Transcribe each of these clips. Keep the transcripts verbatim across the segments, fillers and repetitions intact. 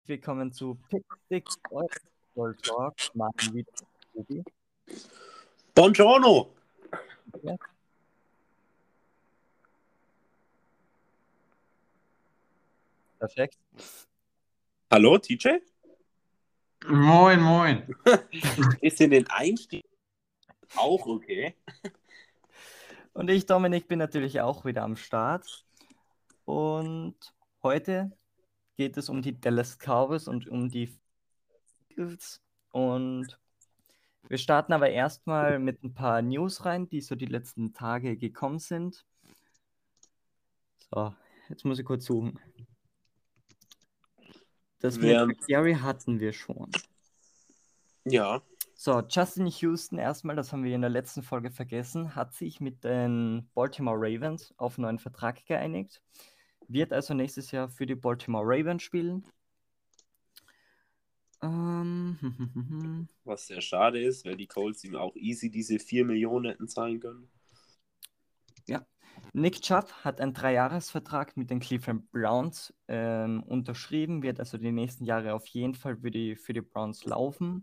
willkommen zu Pick Six, eurem Football Talk. Mal wieder Tobi. Buongiorno! Ja. Perfekt. Hallo, T J? Moin, moin. Ist in den Einstieg auch okay? Und ich, Dominik, bin natürlich auch wieder am Start. Und heute geht es um die Dallas Cowboys und um die Eagles. Und wir starten aber erstmal mit ein paar News rein, die so die letzten Tage gekommen sind. So, jetzt muss ich kurz suchen. Das Wer- mit Gary hatten wir schon. Ja. So, Justin Houston erstmal, das haben wir in der letzten Folge vergessen, hat sich mit den Baltimore Ravens auf einen neuen Vertrag geeinigt. Wird also nächstes Jahr für die Baltimore Ravens spielen. Ähm, Was sehr schade ist, weil die Colts ihm auch easy diese vier Millionen hätten zahlen können. Nick Chubb hat einen Dreijahresvertrag mit den Cleveland Browns ähm, unterschrieben, wird also die nächsten Jahre auf jeden Fall für die, für die Browns laufen.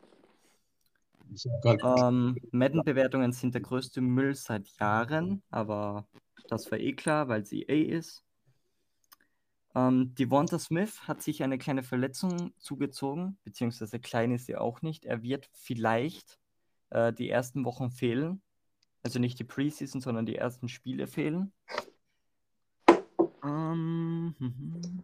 Ähm, Madden-Bewertungen sind der größte Müll seit Jahren, aber das war eh klar, weil sie eh ist. Ähm, Devonta Smith hat sich eine kleine Verletzung zugezogen, beziehungsweise klein ist sie auch nicht. Er wird vielleicht äh, die ersten Wochen fehlen. Also nicht die Preseason, sondern die ersten Spiele fehlen. Ähm, mhm.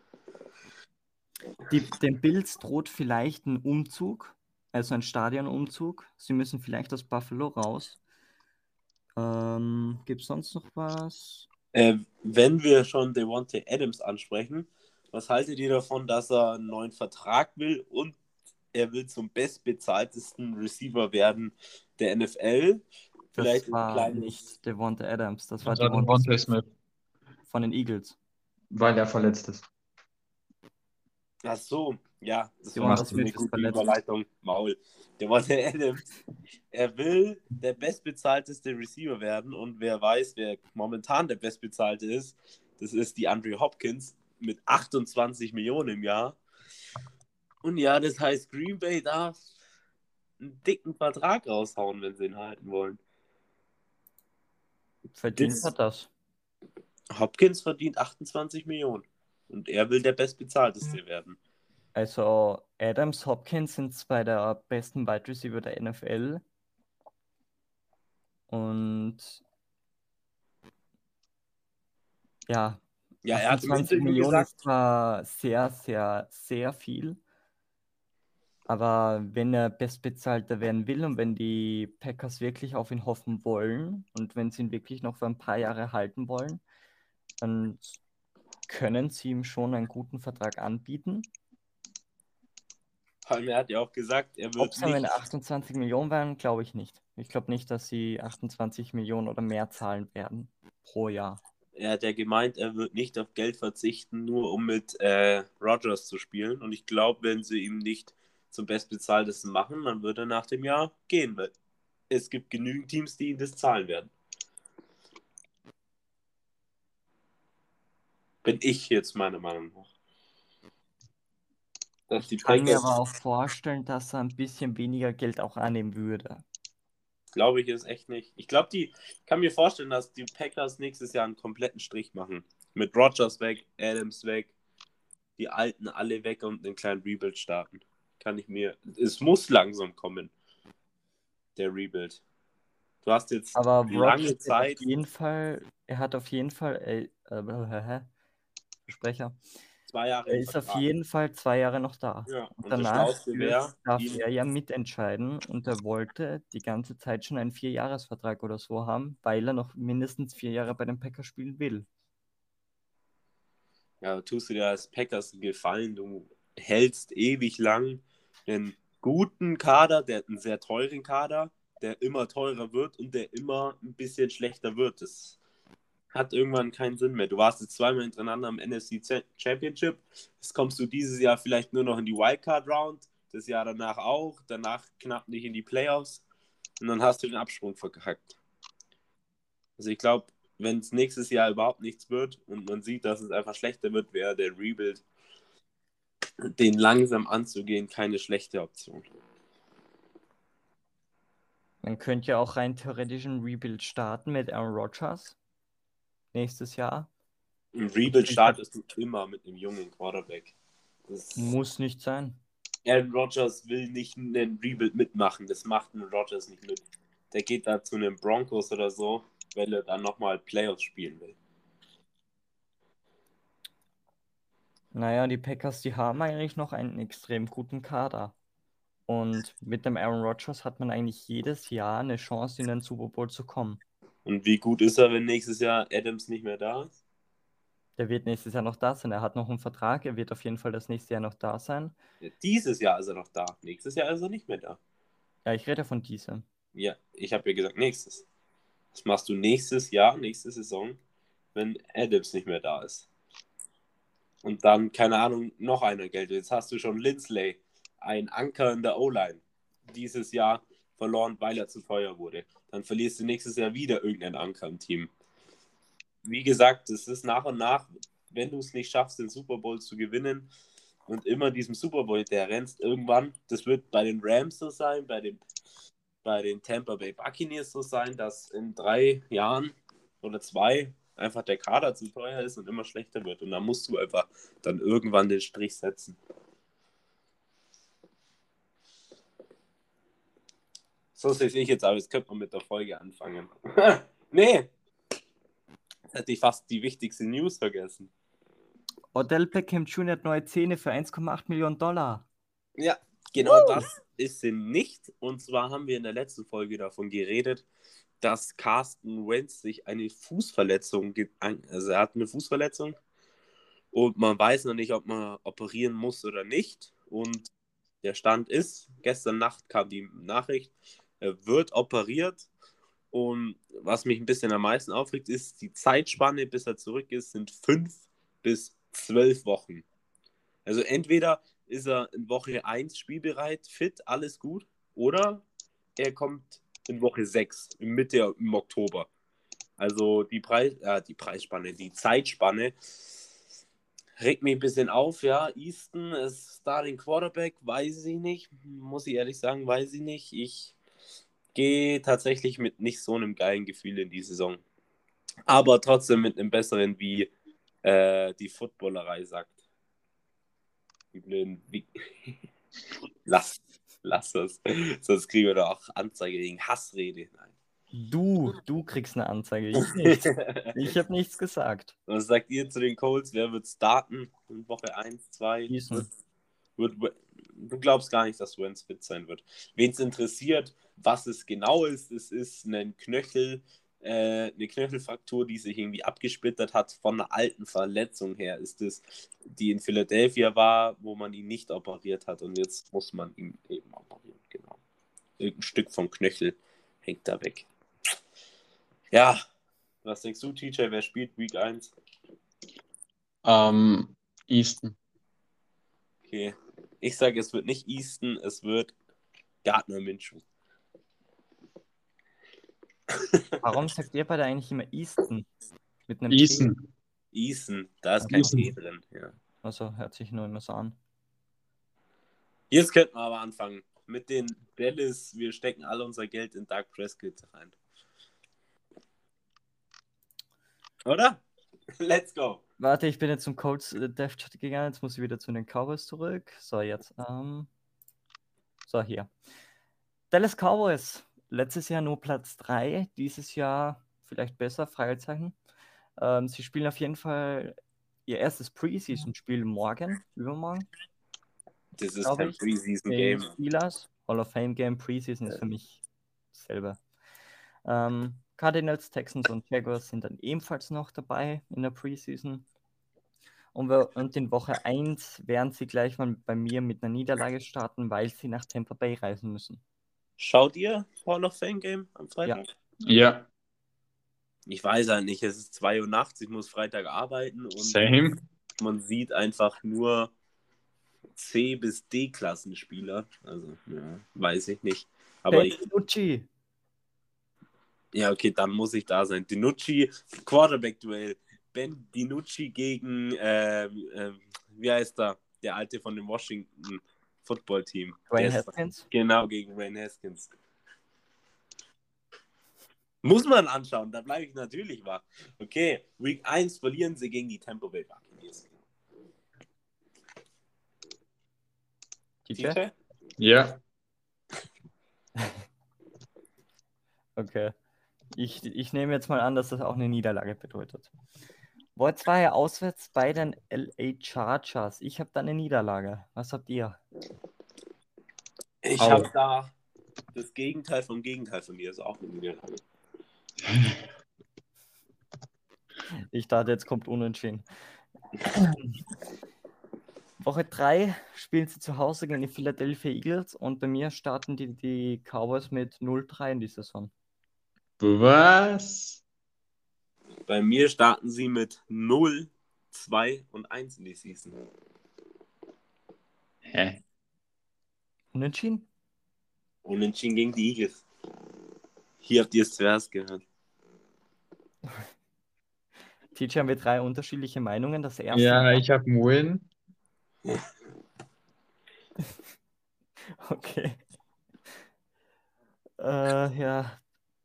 Die, den Bills droht vielleicht ein Umzug, also ein Stadionumzug. Sie müssen vielleicht aus Buffalo raus. Ähm, Gibt es sonst noch was? Äh, wenn wir schon Devontae Adams ansprechen, was haltet ihr davon, dass er einen neuen Vertrag will und er will zum bestbezahltesten Receiver werden der N F L? Vielleicht Das ein war kleines... nicht Devonta Adams, das war Das war Devonta Devontae Smith Smith, von den Eagles. weil er verletzt ist. Ach so, ja, das Devonta war Smith eine ist gute verletzt. Überleitung. Maul. Devontae Adams, er will der bestbezahlteste Receiver werden und wer weiß, wer momentan der bestbezahlte ist, das ist die Andre Hopkins mit achtundzwanzig Millionen im Jahr. Und ja, das heißt, Green Bay darf einen dicken Vertrag raushauen, wenn sie ihn halten wollen. Verdient Das- hat das. Hopkins verdient achtundzwanzig Millionen und er will der bestbezahlteste werden. Also Adams, Hopkins sind zwei der besten Wide Receiver der N F L. Und ja, Ja, er hat im achtundzwanzig Interview Millionen gesagt, ist zwar sehr, sehr, sehr viel. Aber wenn er Bestbezahlter werden will und wenn die Packers wirklich auf ihn hoffen wollen und wenn sie ihn wirklich noch für ein paar Jahre halten wollen, dann können sie ihm schon einen guten Vertrag anbieten. vor allem er hat ja auch gesagt, er Ob wird es am nicht... Ende achtundzwanzig Millionen werden, glaube ich nicht. Ich glaube nicht, dass sie achtundzwanzig Millionen oder mehr zahlen werden pro Jahr. Er hat ja gemeint, er wird nicht auf Geld verzichten, nur um mit äh, Rodgers zu spielen. Und ich glaube, wenn sie ihm nicht zum Bestbezahltesten machen, dann wird er nach dem Jahr gehen, weil es gibt genügend Teams, die ihm das zahlen werden. Bin ich jetzt meiner Meinung nach. Dass die Ich kann mir Packers, aber auch vorstellen, dass er ein bisschen weniger Geld auch annehmen würde. glaube ich, ist echt nicht. Ich glaube, die ich kann mir vorstellen, dass die Packers nächstes Jahr einen kompletten Strich machen. Mit Rodgers weg, Adams weg, die Alten alle weg und einen kleinen Rebuild starten. Kann ich mir. Es muss langsam kommen, der Rebuild. Du hast jetzt Aber lange Rodgers hat Zeit. auf jeden Fall, er hat auf jeden Fall, äh, äh, Versprecher, Zwei Jahre er im ist auf Vertrag. jeden Fall zwei Jahre noch da. Ja, Und und das danach Schlauste wäre, darf ihm, er ja mitentscheiden und er wollte die ganze Zeit schon einen Vierjahresvertrag oder so haben, weil er noch mindestens vier Jahre bei den Packers spielen will. ja, tust du dir als Packers einen Gefallen, du hältst ewig lang einen guten Kader, der einen sehr teuren Kader, der immer teurer wird und der immer ein bisschen schlechter wird. Das hat irgendwann keinen Sinn mehr. Du warst jetzt zweimal hintereinander am N F C Championship. Jetzt kommst du dieses Jahr vielleicht nur noch in die Wildcard-Round, das Jahr danach auch, danach knapp nicht in die Playoffs und dann hast du den Absprung verkackt. Also ich glaube, wenn es nächstes Jahr überhaupt nichts wird und man sieht, dass es einfach schlechter wird, wäre der Rebuild den langsam anzugehen, keine schlechte Option. Man könnte ja auch rein theoretisch ein Rebuild starten mit Aaron Rodgers nächstes Jahr. Ein Rebuild startest du immer mit einem jungen Quarterback. Das muss nicht sein. Aaron Rodgers will nicht einen Rebuild mitmachen. Das macht ein Rodgers nicht mit. Der geht da zu einem Broncos oder so, weil er dann nochmal Playoffs spielen will. Naja, die Packers, die haben eigentlich noch einen extrem guten Kader. Und mit dem Aaron Rodgers hat man eigentlich jedes Jahr eine Chance, in den Super Bowl zu kommen. Und wie gut ist er, wenn nächstes Jahr Adams nicht mehr da ist? Der wird nächstes Jahr noch da sein. Er hat noch einen Vertrag. Er wird auf jeden Fall das nächste Jahr noch da sein. Ja, dieses Jahr ist er noch da. Nächstes Jahr ist er nicht mehr da. Ja, ich rede von diesem. Ja, ich habe ja gesagt nächstes. Was machst du nächstes Jahr, nächste Saison, wenn Adams nicht mehr da ist? Und dann, keine Ahnung, noch einer Geld. Jetzt hast du schon Lindsley, ein Anker in der O-Line, dieses Jahr verloren, weil er zu teuer wurde. Dann verlierst du nächstes Jahr wieder irgendeinen Anker im Team. Wie gesagt, es ist nach und nach, wenn du es nicht schaffst, den Super Bowl zu gewinnen und immer diesem Super Bowl der rennst, irgendwann, das wird bei den Rams so sein, bei den, bei den Tampa Bay Buccaneers so sein, dass in drei Jahren oder zwei einfach der Kader zu teuer ist und immer schlechter wird. Und dann musst du einfach dann irgendwann den Strich setzen. So sehe ich jetzt, aber jetzt könnte man mit der Folge anfangen. Nee! Jetzt hätte ich fast die wichtigste News vergessen. Odell Beckham Junior hat neue Zähne für eins Komma acht Millionen Dollar. Ja, genau uh. das ist sie nicht. Und zwar haben wir in der letzten Folge davon geredet, dass Carson Wentz sich eine Fußverletzung, also er hat eine Fußverletzung und man weiß noch nicht, ob man operieren muss oder nicht. Und der Stand ist, gestern Nacht kam die Nachricht, er wird operiert. Und was mich ein bisschen am meisten aufregt, ist, die Zeitspanne, bis er zurück ist, sind fünf bis zwölf Wochen. Also entweder ist er in Woche eins spielbereit, fit, alles gut, oder er kommt in Woche sechs, im Mitte, im Oktober. Also die, Preis, äh, die Preisspanne, die Zeitspanne regt mich ein bisschen auf, ja. Easton ist da den Quarterback, weiß ich nicht, muss ich ehrlich sagen, weiß ich nicht. Ich gehe tatsächlich mit nicht so einem geilen Gefühl in die Saison. Aber trotzdem mit einem besseren, wie äh, die Footballerei sagt. Die blöden, wie... Lass, lass das. Sonst kriegen wir doch auch Anzeige wegen Hassrede. Nein. Du, du kriegst eine Anzeige, ich nicht. Ich habe nichts gesagt. Was sagt ihr zu den Colts? Wer wird starten in Woche eins, zwei? Wird, wird, du glaubst gar nicht, dass Wentz fit sein wird. Wen es interessiert, was es genau ist, es ist ein Knöchel, äh, eine Knöchelfraktur, die sich irgendwie abgesplittert hat von einer alten Verletzung her. Ist es, die in Philadelphia war, wo man ihn nicht operiert hat und jetzt muss man ihn eben operieren. Genau. Irgendein Stück vom Knöchel hängt da weg. Ja, was denkst du, T J, wer spielt Week eins? Ähm, Easton. Okay, ich sage, es wird nicht Easton, es wird Gardner Minshew. Warum sagt ihr beide eigentlich immer Easton? Mit einem Easton. T? Easton, da ist kein Easton. T drin. Ja. Also hört sich nur immer so an. Jetzt könnten wir aber anfangen mit den Dallas. Wir stecken alle unser Geld in Dak Prescott rein. Oder? Let's go. Warte, ich bin jetzt zum Colts äh, Dev Chat gegangen, jetzt muss ich wieder zu den Cowboys zurück. So, jetzt. Ähm, so, hier. Dallas Cowboys. Letztes Jahr nur Platz drei, dieses Jahr vielleicht besser, Fragezeichen. Ähm, sie spielen auf jeden Fall ihr erstes Preseason-Spiel morgen, übermorgen. Das ist kein Preseason-Game. Steelers, Hall of Fame-Game, Preseason ist für mich dasselbe. Ähm, Cardinals, Texans und Jaguars sind dann ebenfalls noch dabei in der Preseason. Und, wir, und in Woche eins werden sie gleich mal bei mir mit einer Niederlage starten, weil sie nach Tampa Bay reisen müssen. Schaut ihr Hall of Fame Game am Freitag? Ja. Ja. Ich weiß halt nicht, es ist zwei Uhr nachts, ich muss Freitag arbeiten und Same. man sieht einfach nur C- bis D-Klassenspieler. Also, ja, weiß ich nicht. Aber hey, ich, Uchi. Ja, okay, dann muss ich da sein. DiNucci, Quarterback-Duell. Ben DiNucci gegen, ähm, ähm, wie heißt er? der alte von dem Washington Football Team. Dwayne Der ist- Haskins. Genau, gegen Dwayne Haskins. Muss man anschauen, da bleibe ich natürlich wach. Okay, Week eins verlieren sie gegen die Tampa Bay Buccaneers. T J? T J? Ja. Okay. Ich, ich nehme jetzt mal an, dass das auch eine Niederlage bedeutet. Wollt war ja auswärts bei den L A Chargers. Ich habe da eine Niederlage. Was habt ihr? Ich Au. habe da das Gegenteil vom Gegenteil von mir, ist auch eine Niederlage. Ich dachte, jetzt kommt unentschieden. Woche drei spielen sie zu Hause gegen die Philadelphia Eagles und bei mir starten die, die Cowboys mit null drei in die Saison. Was? Bei mir starten sie mit null, zwei und eins in die Season. Hä? Unentschieden? Unentschieden gegen die Eagles. Hier habt ihr es zuerst gehört. T J, haben wir drei unterschiedliche Meinungen. Das erste Ja, war- ich habe einen Win. Okay. Äh, ja.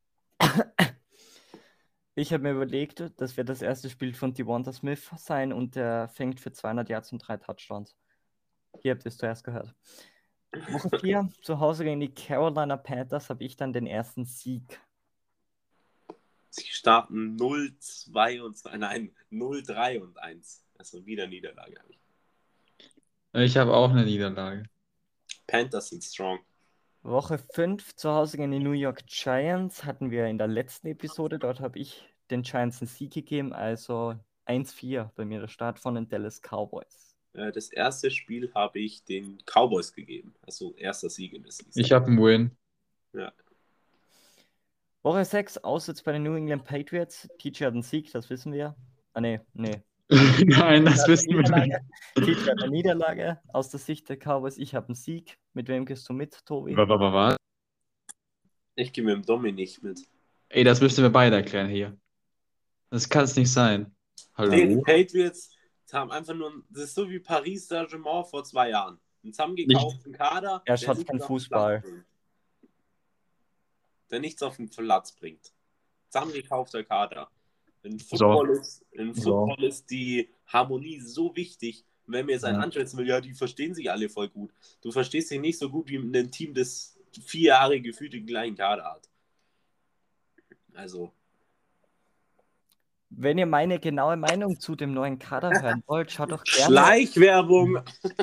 Ich habe mir überlegt, das wird das erste Spiel von Devonta Smith sein und der fängt für zweihundert Yards und drei Touchdowns. Hier habt ihr es zuerst gehört. Woche vier, zu Hause gegen die Carolina Panthers, habe ich dann den ersten Sieg. Sie starten null, zwei und zwei, nein, null, drei und eins. Also wieder Niederlage. Ich habe auch eine Niederlage. Panthers sind strong. Woche fünf, zu Hause gegen die New York Giants, hatten wir in der letzten Episode. Dort habe ich den Giants einen Sieg gegeben, also eins vier bei mir der Start von den Dallas Cowboys. Äh, Das erste Spiel habe ich den Cowboys gegeben. Also erster Sieg in der Season. Ich habe einen Win. Ja. Woche sechs, auswärts bei den New England Patriots. T J hat einen Sieg, das wissen wir. Ah, nee, nee. Nein, das Hat eine wissen wir Niederlage. nicht. T J hat eine Niederlage aus der Sicht der Cowboys. Ich habe einen Sieg. Mit wem gehst du mit, Tobi? Was, was, was? Ich gehe mit dem Dominik mit. Ey, das müssen wir beide erklären hier. Das kann es nicht sein. Die Hallo? Patriots haben einfach nur, das ist so wie Paris Saint-Germain vor zwei Jahren. Einen zusammengekauften Kader, Er der schaut nichts keinen auf den Fußball. Platz bringt. Der nichts auf den Platz bringt. Zusammengekaufter Kader. In Football, ist, in So. Football ist die Harmonie so wichtig. Und wenn mir jetzt einen Ja. anschätzen will, ja, die verstehen sich alle voll gut. Du verstehst dich nicht so gut wie ein Team, das vier Jahre gefühlt den gleichen Kader hat. Also, Wenn ihr meine genaue Meinung zu dem neuen Kader hören wollt, schaut doch gerne. Schleichwerbung.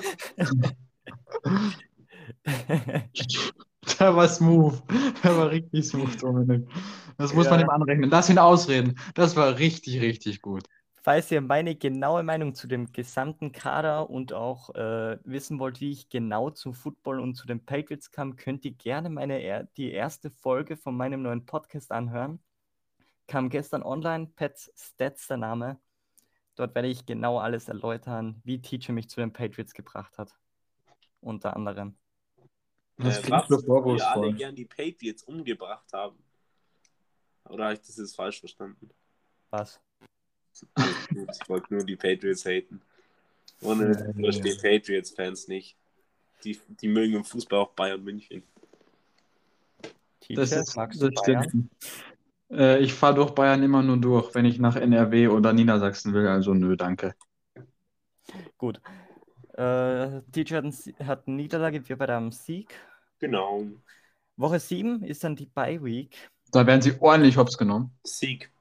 Der war smooth. Der war richtig smooth, Dominik. Das muss Ja. man ihm anrechnen. Lass ihn ausreden. Das war richtig, richtig gut. Falls ihr meine genaue Meinung zu dem gesamten Kader und auch äh, wissen wollt, wie ich genau zum Football und zu den Patriots kam, könnt ihr gerne meine er die erste Folge von meinem neuen Podcast anhören. Kam gestern online, Pets Stats der Name. Dort werde ich genau alles erläutern, wie T J mich zu den Patriots gebracht hat. Unter anderem. Das äh, klingt was so wir alle vorwurfsvoll. gern die Patriots umgebracht haben. Oder habe ich das jetzt falsch verstanden? Was? Alles gut, ich wollte nur die Patriots haten. Ohne das Nee. verstehen Patriots-Fans nicht. Die, die mögen im Fußball auch Bayern München. T J, Das ist, magst das du Bayern? stimmt. Äh, ich fahre durch Bayern immer nur durch, wenn ich nach N R W oder Niedersachsen will. Also nö, danke. Gut. Äh, T J hat, einen Sie- hat eine Niederlage, wir bei einem Sieg. Genau. Woche sieben ist dann die Bye Week. Da werden sie ordentlich hops genommen. Sieg.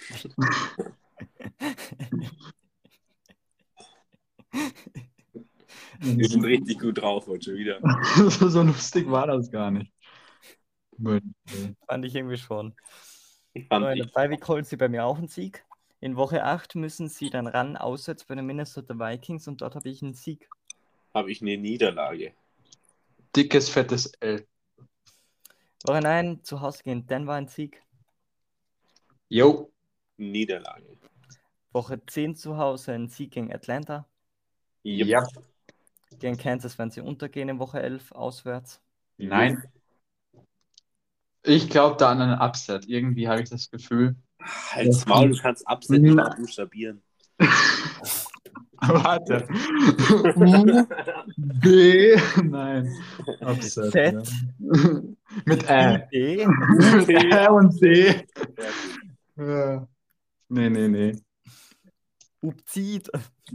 Wir sind richtig gut drauf heute schon wieder. so, so lustig war das gar nicht. Gut. Fand ich irgendwie schon. Ich So, fand in der ich, Bye Week holen sie bei mir auch einen Sieg. In Woche acht müssen sie dann ran, auswärts bei den Minnesota Vikings und dort habe ich einen Sieg. habe ich eine Niederlage. Dickes, fettes L. Woche neun, zu Hause gegen Denver ein Sieg. Jo. Niederlage. Woche zehn zu Hause ein Sieg gegen Atlanta. Yep. Ja. Gegen Kansas werden sie untergehen in Woche elf auswärts. Nein. Ich glaube da an einen Upset. Irgendwie habe ich das Gefühl. Halt's Maul, du kannst Upset nicht mal buchstabieren. Warte. U, B, nein. Upset, Z. ja. Mit Ä. D. Mit Ä und D. Fertig. Ja. Nee, nee, nee. Upzid.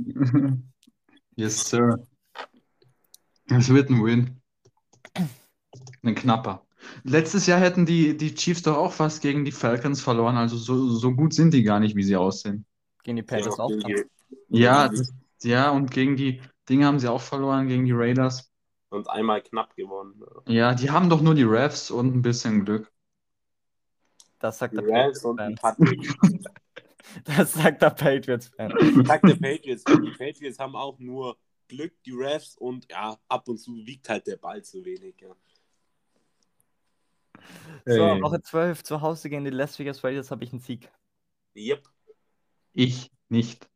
Yes, sir. Es wird ein Win. Ein knapper. Letztes Jahr hätten die, die Chiefs doch auch fast gegen die Falcons verloren. Also so, so gut sind die gar nicht, wie sie aussehen. Gegen die Ja, Panthers auch. gegen die- Ja, gegen das, ja, und gegen die Dinge haben sie auch verloren, gegen die Raiders. Und einmal knapp gewonnen. Ja, die haben doch nur die Refs und ein bisschen Glück. Das sagt Die der Rams und die Patriots-Fan. Patriots. Das sagt der Patriots-Fan. Ich sag der Patriots, die Patriots haben auch nur Glück, die Refs und ja, ab und zu wiegt halt der Ball zu wenig. Ja. So, Ey. Woche zwölf, zu Hause gegen die Las Vegas Raiders habe ich einen Sieg. Yep. Ich nicht.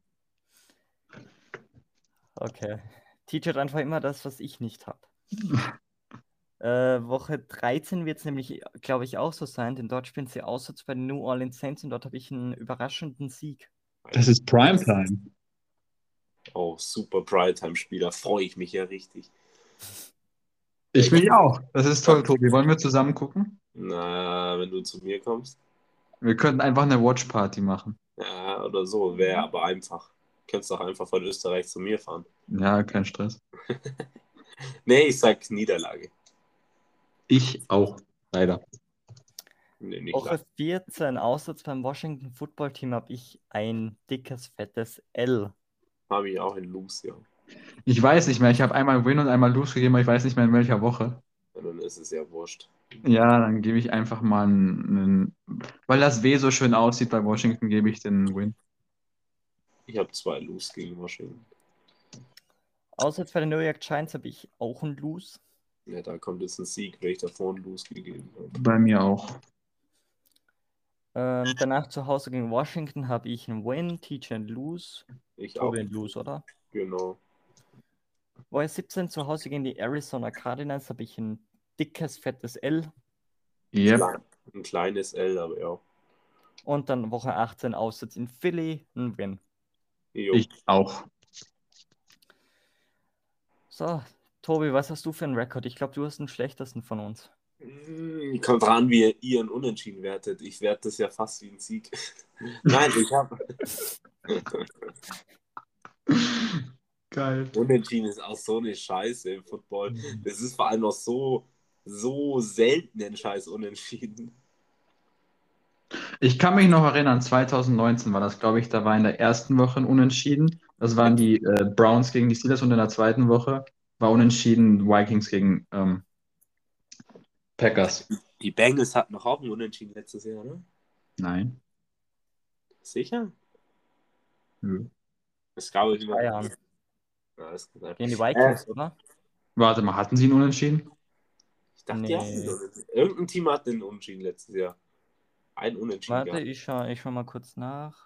Okay. Teacher hat einfach immer das, was ich nicht habe. äh, Woche dreizehn wird es nämlich, glaube ich, auch so sein, denn dort spielen sie auswärts bei den New Orleans Saints und dort habe ich einen überraschenden Sieg. Das ist Primetime. Oh, super Primetime-Spieler. Freue ich mich ja richtig. Ich will auch. Das ist toll, Tobi. Wollen wir zusammen gucken? Na, wenn du zu mir kommst. Wir könnten einfach eine Watch-Party machen. Ja, oder so. Wäre aber einfach. Könntest doch einfach von Österreich zu mir fahren. Ja, kein Stress. Nee, ich sag Niederlage. Ich auch, leider. Nee, nicht Woche leider. vierzehn, auswärts beim Washington Football Team habe ich ein dickes, fettes L. Habe ich auch in Loose, ja. Ich weiß nicht mehr. Ich habe einmal Win und einmal Lose gegeben, aber ich weiß nicht mehr in welcher Woche. Und dann ist es ja wurscht. Ja, dann gebe ich einfach mal einen, einen. Weil das W so schön aussieht bei Washington, gebe ich den Win. Ich habe zwei Loose gegen Washington. Auswärts bei den New York Giants habe ich auch ein Lose. Ja, da kommt jetzt ein Sieg, weil ich davor einen Loose gegeben habe. Bei mir auch. Ähm, danach zu Hause gegen Washington habe ich einen Win, Teacher ein Lose. Ich auch. Tobi ein Lose, oder? Genau. Woche siebzehn zu Hause gegen die Arizona Cardinals habe ich ein dickes, fettes L. Yep. Klein, ein kleines L, aber ja. Und dann Woche achtzehn auswärts in Philly, ein Win. Jo. Ich auch. So, Tobi, was hast du für einen Rekord? Ich glaube, du hast den schlechtesten von uns. Hm, Kommt dran, wie ihr ihren Unentschieden wertet. Ich werte das ja fast wie ein Sieg. Nein, ich habe. Geil. Unentschieden ist auch so eine Scheiße im Football. Das ist vor allem noch so, so selten ein Scheiß Unentschieden. Ich kann mich noch erinnern, zwanzig neunzehn war das, glaube ich, da war in der ersten Woche ein Unentschieden. Das waren die äh, Browns gegen die Steelers und in der zweiten Woche war Unentschieden Vikings gegen ähm, Packers. Die Bengals hatten noch auch einen Unentschieden letztes Jahr, ne? Nein. Sicher? Nö. Das glaube ich immer. Zwei Jahren. Ja, das kann sein. Gegen die Vikings, oder? Warte mal, hatten sie einen Unentschieden? Ich dachte, Nee. die hatten einen Unentschieden. Irgendein Team hat einen Unentschieden letztes Jahr. Ein Unentschieden Warte, gehabt. ich schau, ich schau mal kurz nach.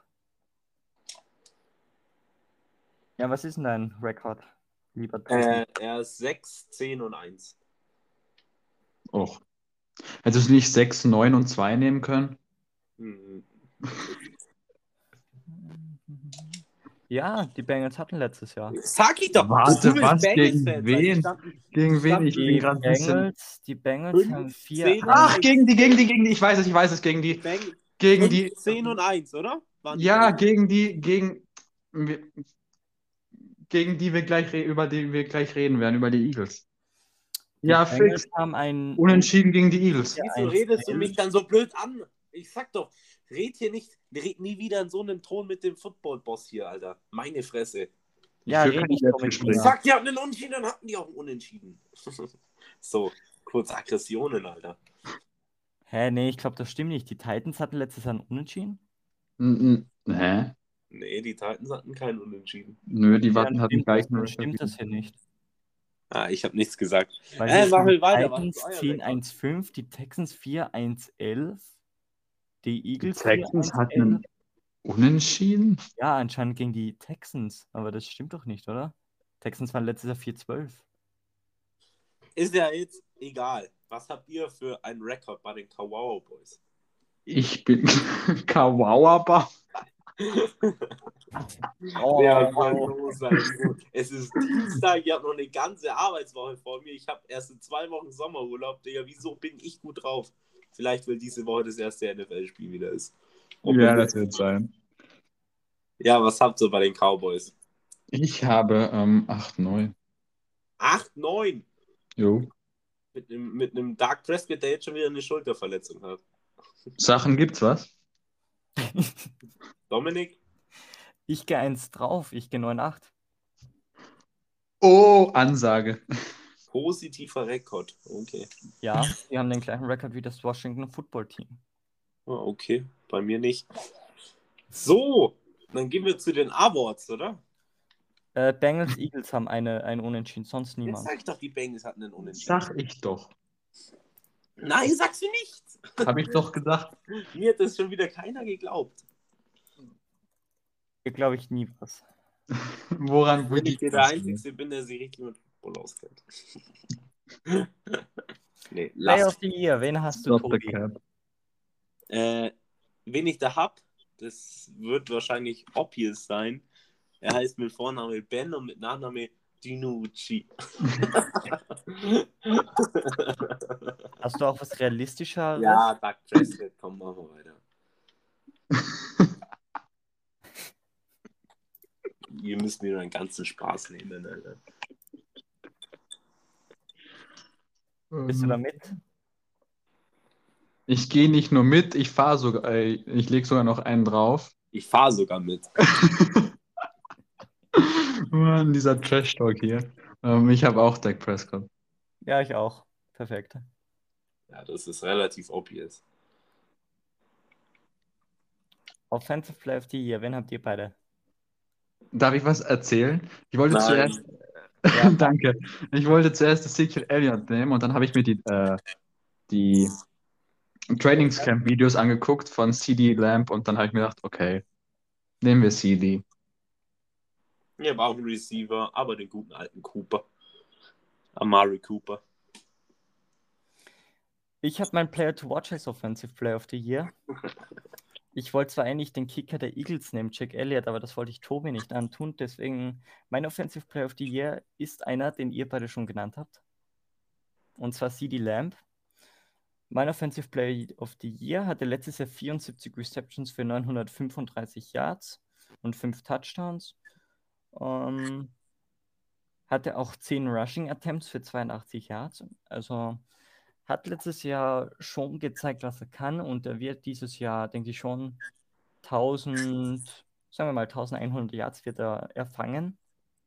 Ja, was ist denn dein Rekord, lieber Tobi? Äh, er ist sechs, zehn und eins. Och. Hättest du nicht sechs, neun und zwei nehmen können? Hm. Ja, die Bengals hatten letztes Jahr. Sag ich doch! Warte, du willst was? Bengals-Fan Gegen sein. wen? Die standen- Gegen wen? standen Ich bin Die gerade ein bisschen. Bengals, die Bengals Fünf, haben vier. zehn, Ach, gegen die, gegen die, gegen die. Ich weiß es, ich weiß es, gegen die. Bengals Gegen die. zehn und eins, oder? Waren die Ja, Bengals? gegen die, gegen. Gegen die wir gleich re- über die wir gleich reden werden, über die Eagles. Die Ja, Bengals fix. haben ein Unentschieden gegen die Eagles. Ja, Wieso eins, redest du elf. mich dann so blöd an? Ich sag doch, red hier nicht, red nie wieder in so einem Ton mit dem Football-Boss hier, Alter. Meine Fresse. Ja, Ich red will kein nicht so mit Selbstgespräch. Ich mir. sag, die hatten einen Unentschieden, dann hatten die auch einen Unentschieden. So, kurz Aggressionen, Alter. Hä, nee, ich glaube, das stimmt nicht. Die Titans hatten letztes Jahr einen Unentschieden. N- n- Hä? Nee, die Titans hatten keinen Unentschieden. Nö, die Ja, warten dann hatten stimmt das, gleichen dann Rekord. stimmt das hier nicht. Ah, ich habe nichts gesagt. Weil Äh, hier mach sind mal die weiter, was Titans ist euer zehn Rekord? eins fünf, die Texans vier eins elf, die Die Eagles Texans vier eins hatten elf. einen Unentschieden? Ja, anscheinend gegen die Texans, aber das stimmt doch nicht, oder? Texans waren letztes Jahr vier zwölf. Ist ja jetzt egal. Was habt ihr für einen Rekord bei den Kawaii Boys? Ich bin Kawauaba. Oh, Wer soll los sein? Es ist Dienstag, ich habe noch eine ganze Arbeitswoche vor mir. Ich habe erst in zwei Wochen Sommerurlaub, Digga. Wieso bin ich gut drauf? Vielleicht, weil diese Woche das erste N F L-Spiel wieder ist. Ob Ja, wir- das wird sein. Ja, was habt ihr bei den Cowboys? Ich habe ähm, acht neun. acht neun Jo. mit einem, mit einem Dark Prescott, der jetzt schon wieder eine Schulterverletzung hat. Sachen gibt's was? Dominik? Ich gehe eins drauf, ich gehe neun acht. Oh, Ansage. Positiver Rekord. Okay. Ja, die haben den gleichen Rekord wie das Washington Football Team. Ah, okay, bei mir nicht. So, dann gehen wir zu den Awards, oder? Äh, Bengals, Eagles haben eine, ein Unentschieden, sonst Jetzt niemand. sag ich doch, die Bengals hatten einen Unentschieden. Sag ich doch. Nein, sagst du nicht. Hab ich doch gesagt. Mir hat das schon wieder keiner geglaubt. Hier glaube ich nie was. Woran Wenn ich liegt hier der das? Einzige bin, der sich richtig mit Football auskennt. Nee, Play lass. of the Year, wen hast du, Stop the Tobi? cap. Äh, wen ich da hab, das wird wahrscheinlich obvious sein. Er heißt mit Vorname Ben und mit Nachname Dinucci. Hast du auch was Realistischeres? Ja, Doug Prescott, komm, machen wir weiter. Ihr müsst mir nur einen ganzen Spaß nehmen, Alter. Bist du da mit? Ich gehe nicht nur mit, ich fahre sogar, äh, ich lege sogar noch einen drauf. Ich fahre sogar mit. Mann, dieser Trash-Talk hier. Ähm, ich habe auch Dak Prescott. Ja, ich auch. Perfekt. Ja, das ist relativ obvious. Offensive Play of the Year, wen habt ihr beide? Darf ich was erzählen? Ich wollte Nein. zuerst. Ja. Danke. Ich wollte zuerst Ezekiel Elliott nehmen und dann habe ich mir die, äh, die Trainingscamp-Videos angeguckt von C D Lamb und dann habe ich mir gedacht, okay, nehmen wir C D. Wir brauchen einen Receiver, aber den guten alten Cooper. Amari Cooper. Ich habe meinen Player to Watch als Offensive Player of the Year. Ich wollte zwar eigentlich den Kicker der Eagles nehmen, Jack Elliott, aber das wollte ich Tobi nicht antun. Deswegen, mein Offensive Player of the Year ist einer, den ihr beide schon genannt habt. Und zwar C D Lamb. Mein Offensive Player of the Year hatte letztes Jahr vierundsiebzig Receptions für neunhundertfünfunddreißig Yards und fünf Touchdowns. Ähm, hatte auch zehn Rushing Attempts für zweiundachtzig Yards. Also hat letztes Jahr schon gezeigt, was er kann, und er wird dieses Jahr, denke ich, schon tausend, sagen wir mal elfhundert Yards wird er erfangen.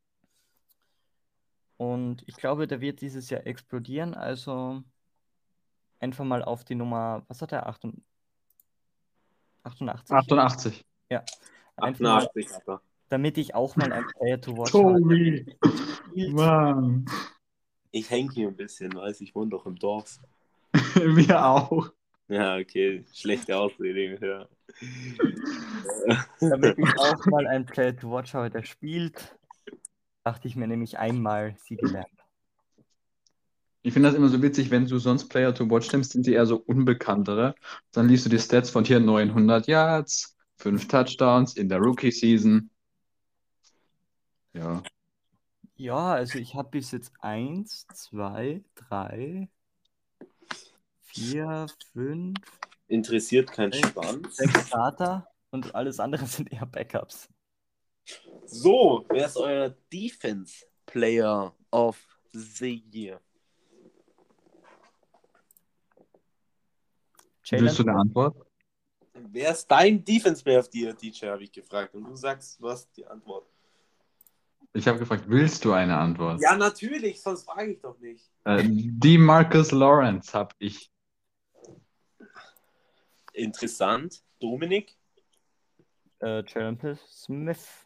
Und ich glaube, der wird dieses Jahr explodieren, also einfach mal auf die Nummer, was hat er, achtundachtzig? achtundachtzig. Ja, einfach mal, achtundachtzig hat er. damit ich auch mal ein Player to watch habe. Tobi! Mann! Ich hänge hier ein bisschen, weiß ich wohne doch im Dorf. Wir auch. Ja, okay, schlechte Ausrede. Ja. Damit ich auch mal ein Player to watch habe, der spielt, dachte ich mir nämlich einmal C D Lamb. Ich finde das immer so witzig, wenn du sonst Player to Watch nimmst, sind die eher so unbekanntere. Dann liest du die Stats von hier neunhundert Yards, fünf Touchdowns in der Rookie-Season. Ja. Ja, also ich habe bis jetzt eins, zwei, drei, vier, fünf, Interessiert kein sechs, Schwanz. sechs Starter und alles andere sind eher Backups. So, wer ist euer Defense Player of the Year? Willst du eine Antwort? Wer ist dein Defense Player of the Year, D J, habe ich gefragt. Und du sagst, was die Antwort. Ich habe gefragt, willst du eine Antwort? Ja, natürlich, sonst frage ich doch nicht. Äh, DeMarcus Lawrence habe ich. Interessant. Dominik? Äh, Jalen Smith.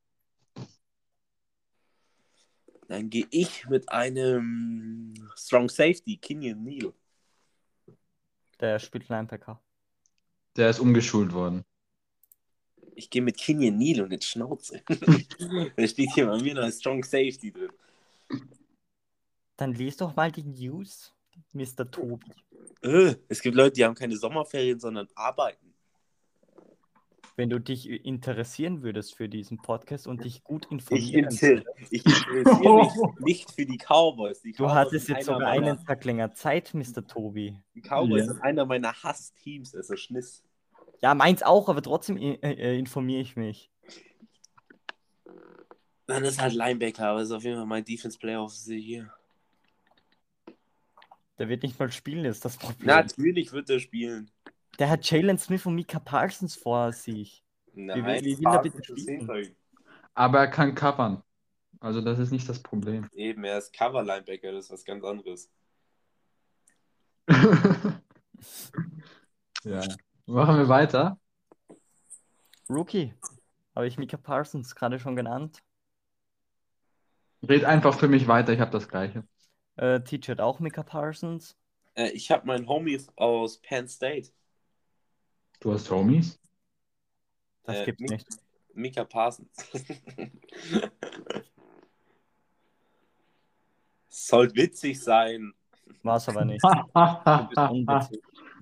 Dann gehe ich mit einem Strong Safety, Kenyon Neal. Der spielt Linebacker. Der ist umgeschult worden. Ich gehe mit Kenyon Neal und jetzt Schnauze. Da steht hier bei mir noch ein Strong Safety drin. Dann lies doch mal die News, Mister Tobi. Äh, es gibt Leute, die haben keine Sommerferien, sondern arbeiten. wenn du dich interessieren würdest für diesen Podcast und dich gut Ich, informieren inter würdest. ich interessiere mich nicht für die Cowboys. Die Du Cowboys hattest sind jetzt einer sogar meiner, einen Tag länger Zeit, Mister Tobi. die Cowboys Ja. sind einer meiner Hassteams, also Schniss. Ja, meins auch, aber trotzdem äh, äh, informiere ich mich. Dann ist halt Linebacker, aber ist auf jeden Fall mein Defense Player of the Year. Der wird nicht mal spielen, ist das Problem. Natürlich wird er spielen. Der hat Jalen Smith und Micah Parsons vor sich. Nein, wie will er bitte Parsons ist spielen? hinter ihm. Aber er kann covern. Also das ist nicht das Problem. Eben, er ist Cover-Linebacker, das ist was ganz anderes. Ja. Machen wir weiter. Rookie. Habe ich Micah Parsons gerade schon genannt. Red einfach für mich weiter, ich habe das Gleiche. Äh, Teacher hat auch Micah Parsons. Äh, ich habe meinen Homie aus Penn State, Du hast Homies? Das Äh, gibt's Mi- nicht. Micah Parsons. Sollte witzig sein. War's aber nicht. Du bist unwitzig.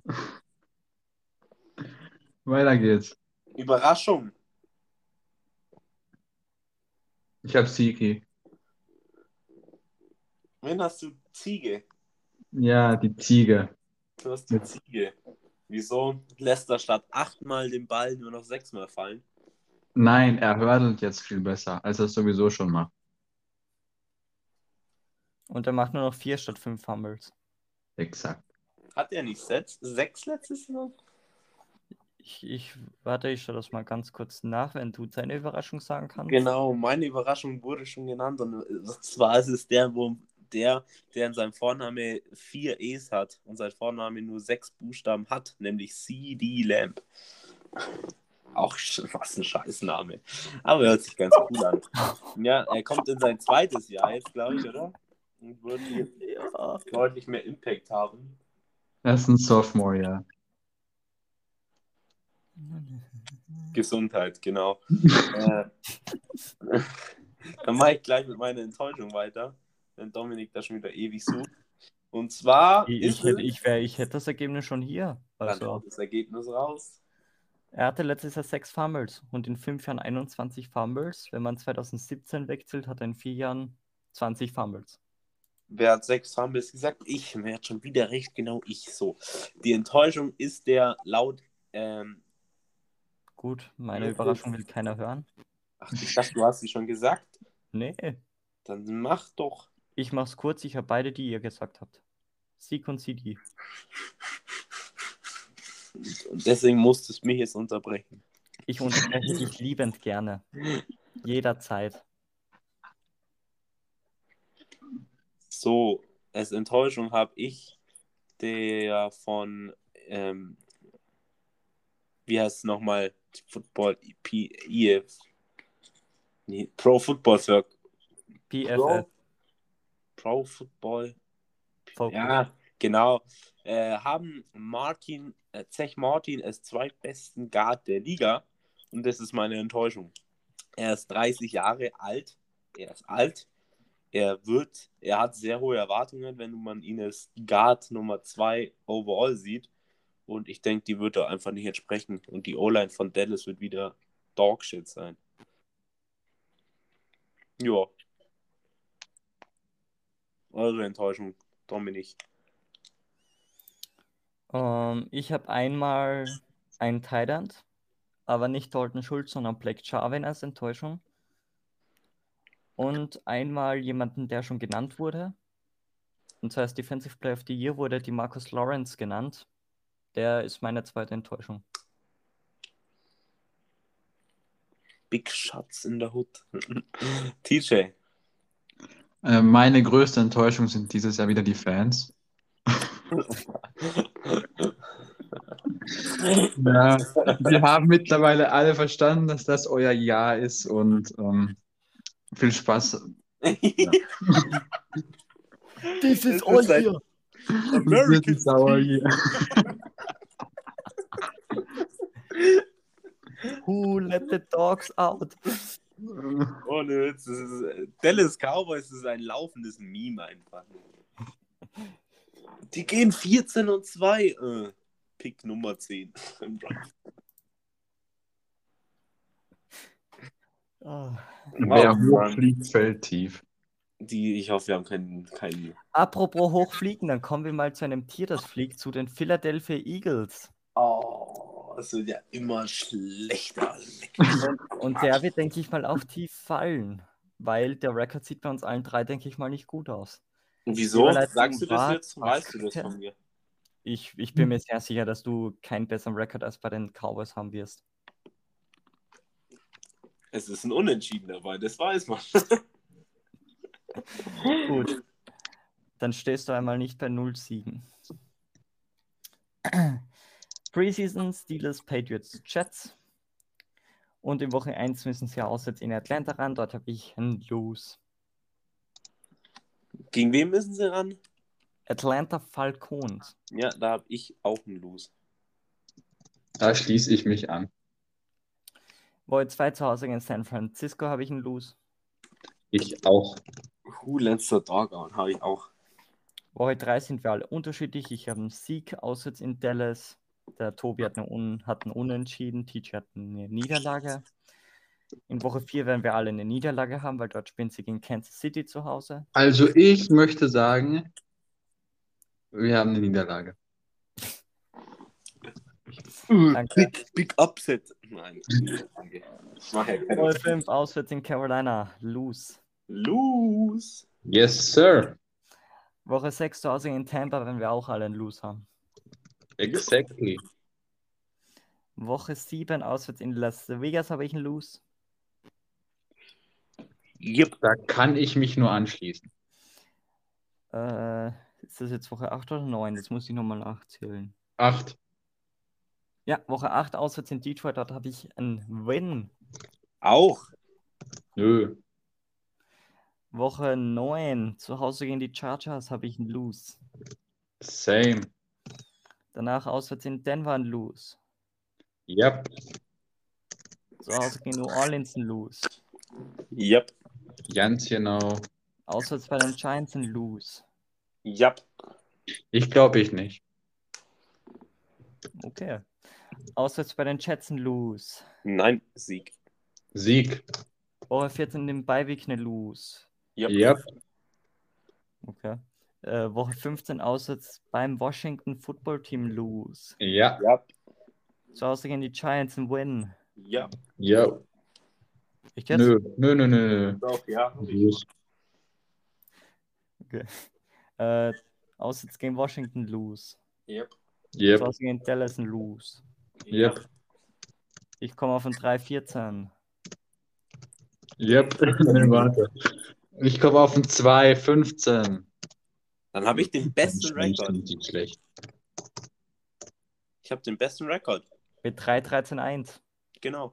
Weiter geht's. Überraschung. Ich habe Siki. Wen hast du? Ziege. Ja, die Ziege. Du hast die Ziege. Wieso lässt er statt achtmal den Ball nur noch sechsmal fallen? Nein, er hurdelt jetzt viel besser, als er es sowieso schon macht. Und er macht nur noch vier statt fünf Fumbles. Exakt. Hat er nicht sechs, sechs letztes Jahr? Ich, ich warte, ich schaue das mal ganz kurz nach, wenn du deine Überraschung sagen kannst. Genau, meine Überraschung wurde schon genannt. Und zwar ist es der, wo der, der in seinem Vorname vier E's hat und sein Vorname nur sechs Buchstaben hat, nämlich C D Lamb. Auch sch- was ein Scheißname. Aber hört sich ganz cool an. Ja, er kommt in sein zweites Jahr jetzt, glaube ich, oder? Und wird jetzt Ja. deutlich mehr Impact haben. Er ist ein Sophomore, ja. Gesundheit, genau. äh, Dann mache ich gleich mit meiner Enttäuschung weiter, wenn Dominik da schon wieder ewig sucht. Und zwar Ich, ist ich, hätte, es... ich, wär, ich hätte das Ergebnis schon hier. Dann Also, haut das Ergebnis raus. er hatte letztes Jahr sechs Fumbles und in fünf Jahren einundzwanzig Fumbles. Wenn man zwanzig siebzehn wechselt, hat er in vier Jahren zwanzig Fumbles. Wer hat sechs Fumbles gesagt? Ich. Wer hat schon wieder recht? Genau ich. So. Die Enttäuschung ist der laut... Ähm, Gut, meine Ja, Überraschung das- will keiner hören. ach, ich dachte, du hast sie schon gesagt. Nee, Dann mach doch. ich mach's kurz. Ich habe beide, die ihr gesagt habt. Sieg und C D. Und deswegen musstest du mich jetzt unterbrechen. Ich unterbreche dich liebend gerne. Jederzeit. So, als Enttäuschung habe ich der von... Ähm, wie heißt es nochmal? Football P I F. Nee, Pro Football Circle. P F Pro, F. Pro Football. Focus. Ja, genau. Äh, haben Martin, äh, Zech Martin als zweitbesten Guard der Liga. Und das ist meine Enttäuschung. Er ist dreißig Jahre alt. Er ist alt. Er wird, er hat sehr hohe Erwartungen, wenn man ihn als Guard Nummer zwei overall sieht. Und ich denke, die wird er einfach nicht entsprechen. Und die O-Line von Dallas wird wieder Dogshit sein. Ja. Eure Enttäuschung, Dominik. Ähm, ich habe einmal einen Tight End, aber nicht Dalton Schultz, sondern Blake Jarvin als Enttäuschung. Und einmal jemanden, der schon genannt wurde. Und zwar als Defensive Player of the Year wurde die Marcus Lawrence genannt. Der ist meine zweite Enttäuschung. Big Shots in der Hood. T J. Äh, meine größte Enttäuschung sind dieses Jahr wieder die Fans. Ja, wir haben mittlerweile alle verstanden, dass das euer Jahr ist und ähm, viel Spaß. This is all here. American This is our year. Who let the dogs out? Ohne Witz, das ist, Dallas Cowboys ist ein laufendes Meme einfach. Die gehen vierzehn und zwei. Äh, Pick Nummer zehn. Oh. Wer Oh, hoch Mann. fliegt, fällt tief. Die, ich hoffe, wir haben keinen. keinen... Apropos hochfliegen, dann kommen wir mal zu einem Tier, das fliegt, zu den Philadelphia Eagles. Oh, es wird ja immer schlechter. Und, und der wird, denke ich mal, auch tief fallen, weil der Rekord sieht bei uns allen drei, denke ich mal, nicht gut aus. Und wieso? Überleitung Sagst du das war jetzt? Weißt du das Basket. von mir? Ich, ich bin mir sehr sicher, dass du keinen besseren Rekord als bei den Cowboys haben wirst. Es ist ein Unentschieden dabei, das weiß man. Gut. Dann stehst du einmal nicht bei null Siegen. Preseason Steelers, Patriots, Jets. Und in Woche eins müssen sie auswärts in Atlanta ran. Dort habe ich ein Lose. Gegen wen müssen sie ran? Atlanta Falcons. Ja, da habe ich auch einen Lose. Da schließe ich mich an. Woche zwei zu Hause gegen San Francisco habe ich einen Lose. Ich auch. Who lets the dog out? Habe ich auch. Woche drei sind wir alle unterschiedlich. Ich habe einen Sieg auswärts in Dallas. Der Tobi hat, eine Un hat einen Unentschieden. T J hat eine Niederlage. In Woche vier werden wir alle eine Niederlage haben, weil dort spielen sie gegen Kansas City zu Hause. Also ich möchte sagen, wir haben eine Niederlage. Danke. Big, big Upset. Nein, danke. Ich mache ja keine Woche fünf auswärts in Carolina. Lose. Lose. Yes, sir. Woche sechs zu Hause in Tampa werden wir auch alle einen Lose haben. Exactly. Woche sieben auswärts in Las Vegas habe ich einen Lose. Yep. Da kann ich mich nur anschließen. Äh, ist das jetzt Woche acht oder neun? Das muss ich nochmal nachzählen. Acht. Ja, Woche acht auswärts in Detroit, dort habe ich einen Win. Auch. Nö. Woche neun zu Hause gegen die Chargers habe ich einen Lose. Same. Danach auswärts in Denver ein Lose. Yep. Zu Hause gegen New Orleans ein Lose. Yep. Ganz genau. Auswärts bei den Giants ein Lose. Yep. Ich glaube ich nicht. Okay. Auswärts bei den Jets ein Lose. Nein, Sieg. Sieg. Woche vierzehn im Beiweek eine Lose. Yep. Yep. Okay. Äh, Woche fünfzehn auswärts beim Washington Football Team Lose. Ja. Yep. Zu Hause gegen die Giants ein Win. Yep. Ja. Ich jetzt? Nö. Nö, nö, nö. Doch, ja. Okay. Äh, auswärts gegen Washington Lose. Yep. Zu Yep. Hause gegen Dallas ein Lose. Yep. Ich komme auf ein drei vierzehn. Yep. Nee, warte. Ich komme auf ein zwei fünfzehn. Dann habe ich den besten Rekord. Nicht schlecht. Ich habe den besten Rekord. Mit drei dreizehn eins. Genau.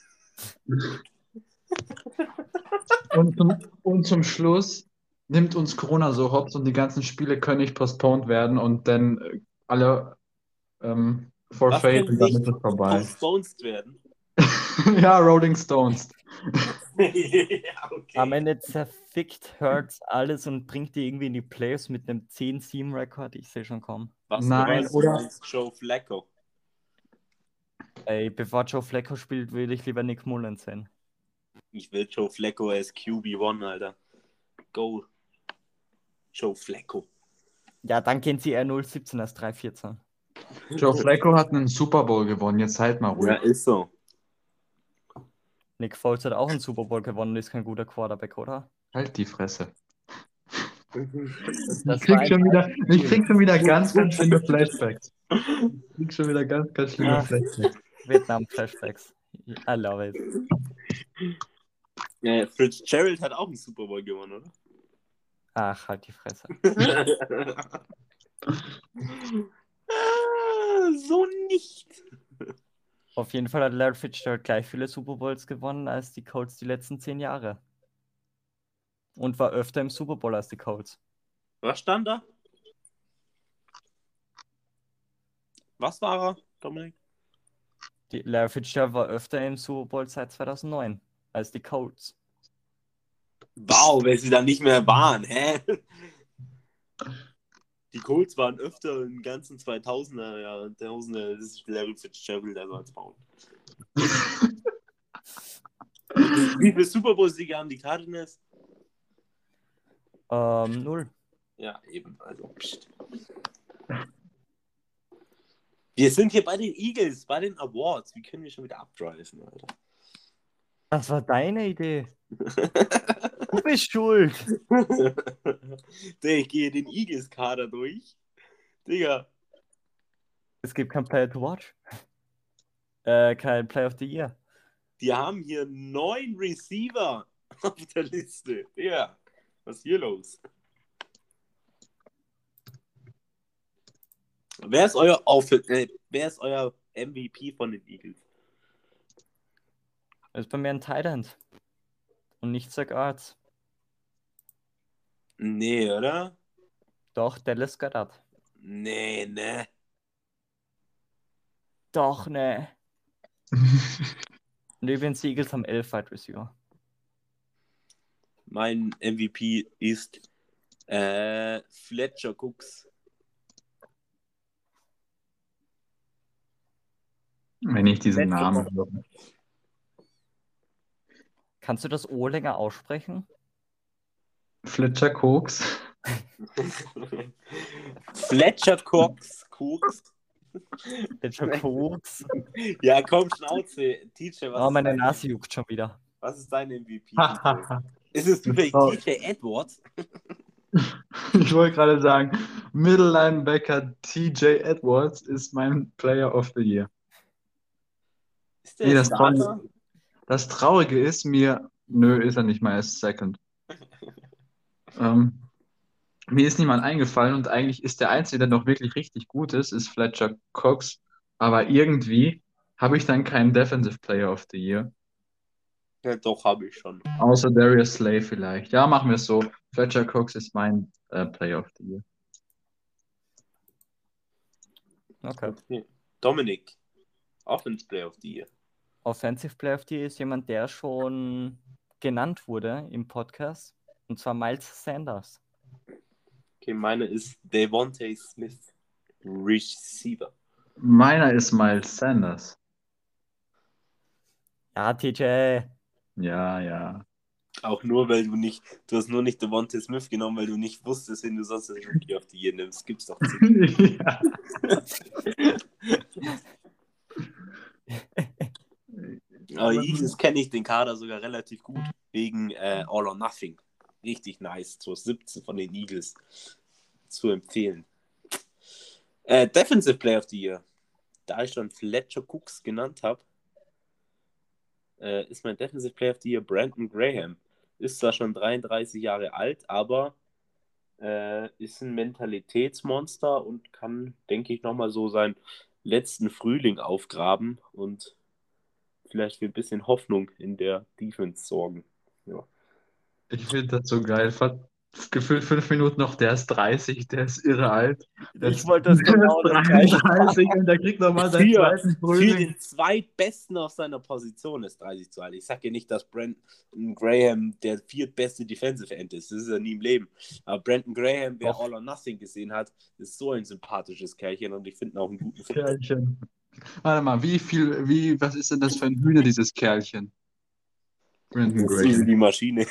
Und zum, und zum Schluss nimmt uns Corona so hops und die ganzen Spiele können nicht postponed werden und dann äh, alle ähm, Was forfeit kann und dann nicht ist es vorbei. postponed werden? Ja, Rolling Stones. Ja, okay. Am Ende zerfickt Hurts alles und bringt die irgendwie in die Playoffs mit einem zehn sieben Rekord. Ich sehe schon kommen. Was Nein, du oder- meinst, Joe Flacco. Ey, bevor Joe Flacco spielt, würde ich lieber Nick Mullins sehen. Ich will Joe Flacco als Q B eins, Alter. Go. Joe Flacco. Ja, dann gehen sie eher null siebzehn als drei vierzehn. Joe Flacco hat einen Super Bowl gewonnen, jetzt halt mal ruhig. Ja, ist so. Nick Foles hat auch einen Super Bowl gewonnen, ist kein guter Quarterback, oder? Halt die Fresse. Das Ich war krieg, ein schon wieder, ich Spiel. krieg schon wieder ganz, ganz schlimme Flashbacks. Ich krieg schon wieder ganz, ganz schlimme Ah. Flashbacks. Vietnam-Flashbacks. I love it. Ja, Fitzgerald hat auch einen Super Bowl gewonnen, oder? Ach, halt die Fresse. Ah, so nicht. Auf jeden Fall hat Larry Fitzgerald gleich viele Super Bowls gewonnen als die Colts die letzten zehn Jahre. Und war öfter im Super Bowl als die Colts. Was stand da? Was war er, Dominik? Die, Larry Fitzgerald war öfter im Super Bowl seit zweitausendneun als die Colts. Wow, wenn sie da nicht mehr waren, hä? Die Colts waren öfter im ganzen zweitausender Jahren. Tausender, das ist Larry Fitzgerald, also als Baum. Wie viele Super Bowl-Siege haben die Cardinals? Ähm, null. Ja, eben. Also, pst. Wir sind hier bei den Eagles, bei den Awards. Wie können wir schon wieder abdriven, Alter? Das war deine Idee. Du bist schuld. Ich gehe den Eagles-Kader durch. Digga. Es gibt kein Player to Watch. Äh, kein Player of the Year. Die haben hier neun Receiver auf der Liste. Ja, was ist hier los? Wer ist euer Auf äh, wer ist euer M V P von den Eagles? Das ist bei mir ein Tight End. Und nicht Zach Ertz. Nee, oder? Doch, Dallas Goedert. Nee, ne. Doch, ne. Und übrigens, die Eagles haben elf Wide Receiver. Mein M V P ist äh, Fletcher Cooks. Wenn ich diesen Letzte Namen Woche. höre. Kannst du das O länger aussprechen? Fletcher Cooks. Fletcher Cooks. Cooks. Fletcher Cooks. Ja, komm, Schnauze. Teacher, was Oh, ist meine dein, Nase juckt schon wieder. was ist dein M V P? Teacher? Ist es zufällig Oh. T J Edwards? Ich wollte gerade sagen, Middle Linebacker T J Edwards ist mein Player of the Year. Ist der Nee, das Starter? Traurige, das Traurige ist mir, nö, ist er nicht mal, er ist Second. ähm, mir ist niemand eingefallen und eigentlich ist der Einzige, der noch wirklich richtig gut ist, ist Fletcher Cox. Aber irgendwie habe ich dann keinen Defensive Player of the Year. Ja, doch, habe ich schon. Außer Darius Slay vielleicht. Ja, machen wir es so. Fletcher Cox ist mein äh, Player of the Year. Okay. Okay. Dominik, Offense Player of the Year. Offensive Player of the Year ist jemand, der schon genannt wurde im Podcast. Und zwar Miles Sanders. Okay, meine ist Devontae Smith, Receiver. Meiner ist Miles Sanders. Ja, T J. Ja, ja. Auch nur, weil du nicht, du hast nur nicht Devontae Smith genommen, weil du nicht wusstest, wen du sonst als Rookie of the Year nimmst. Gibt's doch zehn. ja. Aber Eagles kenne ich den Kader sogar relativ gut, wegen äh, All or Nothing. Richtig nice, so siebzehn von den Eagles zu empfehlen. Äh, Defensive Player of the Year. Da ich schon Fletcher Cooks genannt habe, äh, ist mein Defensive Player of the Year Brandon Graham. Ist zwar schon dreiunddreißig Jahre alt, aber äh, ist ein Mentalitätsmonster und kann, denke ich, nochmal so seinen letzten Frühling aufgraben und vielleicht für ein bisschen Hoffnung in der Defense sorgen. Ja. Ich finde das so geil. Fast gefühlt fünf Minuten noch, der ist dreißig, der ist irre alt. Der Ich ist- wollte das der genau ist das Gleiche dreiunddreißig und der kriegt nochmal seinen Für, zweiten für Frühling. den zweitbesten auf seiner Position ist dreißig zu alt. Ich sage ja nicht, dass Brandon Graham der viertbeste Defensive End ist. Das ist er nie im Leben. Aber Brandon Graham, wer Doch. All or Nothing gesehen hat, ist so ein sympathisches Kerlchen und ich finde ihn auch einen guten Fit. Kerlchen. Warte mal, wie viel, wie, was ist denn das für ein Hühner, dieses Kerlchen? Brandon Das ist Graham. die Maschine.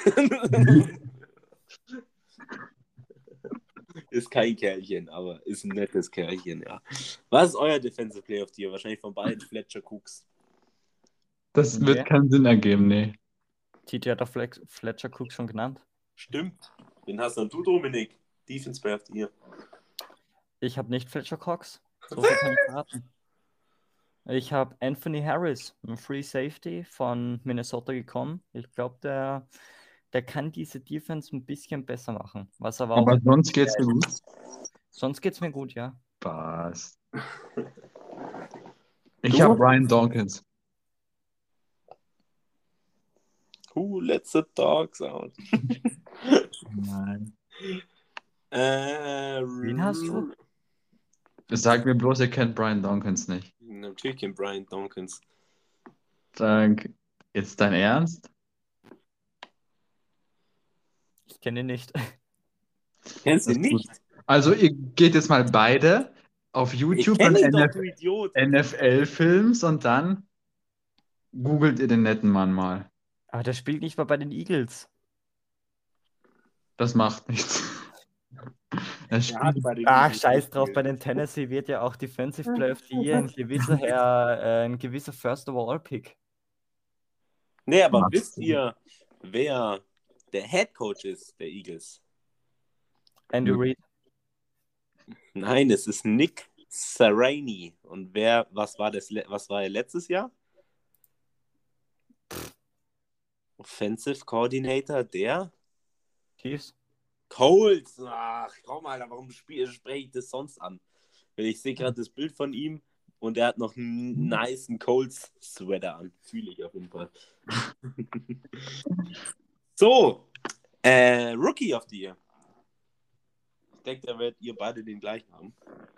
Ist kein Kerlchen, aber ist ein nettes Kerlchen, ja. Was ist euer Defensive Player of the Year? Wahrscheinlich von beiden Fletcher Cooks. Das Nee. wird keinen Sinn ergeben, nee. T J hat doch Flex- Fletcher Cook schon genannt. Stimmt. Den hast dann du, Dominik. Defense Player of the Year. Ich habe nicht Fletcher Cox. So viel kann ich verraten. Ich habe Anthony Harris, ein Free Safety von Minnesota gekommen. Ich glaube, der, der kann diese Defense ein bisschen besser machen. Was aber, Aber auch. sonst geht's mir gut. Sonst geht es mir gut, ja. Passt. Ich Du? habe Brian Dawkins. Who let the dogs out? Nein. Äh, Wen hast du? Sag mir bloß, ihr kennt Brian Dawkins nicht. Natürlich kennt Brian Dawkins. Sag, jetzt dein Ernst? Ich kenne ihn nicht. Kennst du Das ihn ist nicht? Also ihr geht jetzt mal beide auf Ich YouTube kenne und ihn doch, NF du Idiot. N F L-Films und dann googelt ihr den netten Mann mal. Aber der spielt nicht mal bei den Eagles. Das macht nichts. Er Er hat spielt. bei den Ach, Eagles scheiß drauf, bei gespielt. den Tennessee wird ja auch Defensive Player of the Year ein gewisser Herr, äh, ein gewisser First Overall Pick. Nee, aber Was? wisst ihr, wer der Head Coach ist der Eagles? Andy Reid. Nein, es ist Nick Sirianni. Und wer, was war das, le- was war er letztes Jahr? Offensive Coordinator der Chiefs. Colts. Ach, komm, Alter, warum spiel- spreche ich das sonst an? Weil ich sehe gerade das Bild von ihm und er hat noch einen nicen Colts-Sweater an. Fühle ich auf jeden Fall. So, äh, Rookie of the Year. Ich denke, da werdet ihr beide den gleichen haben.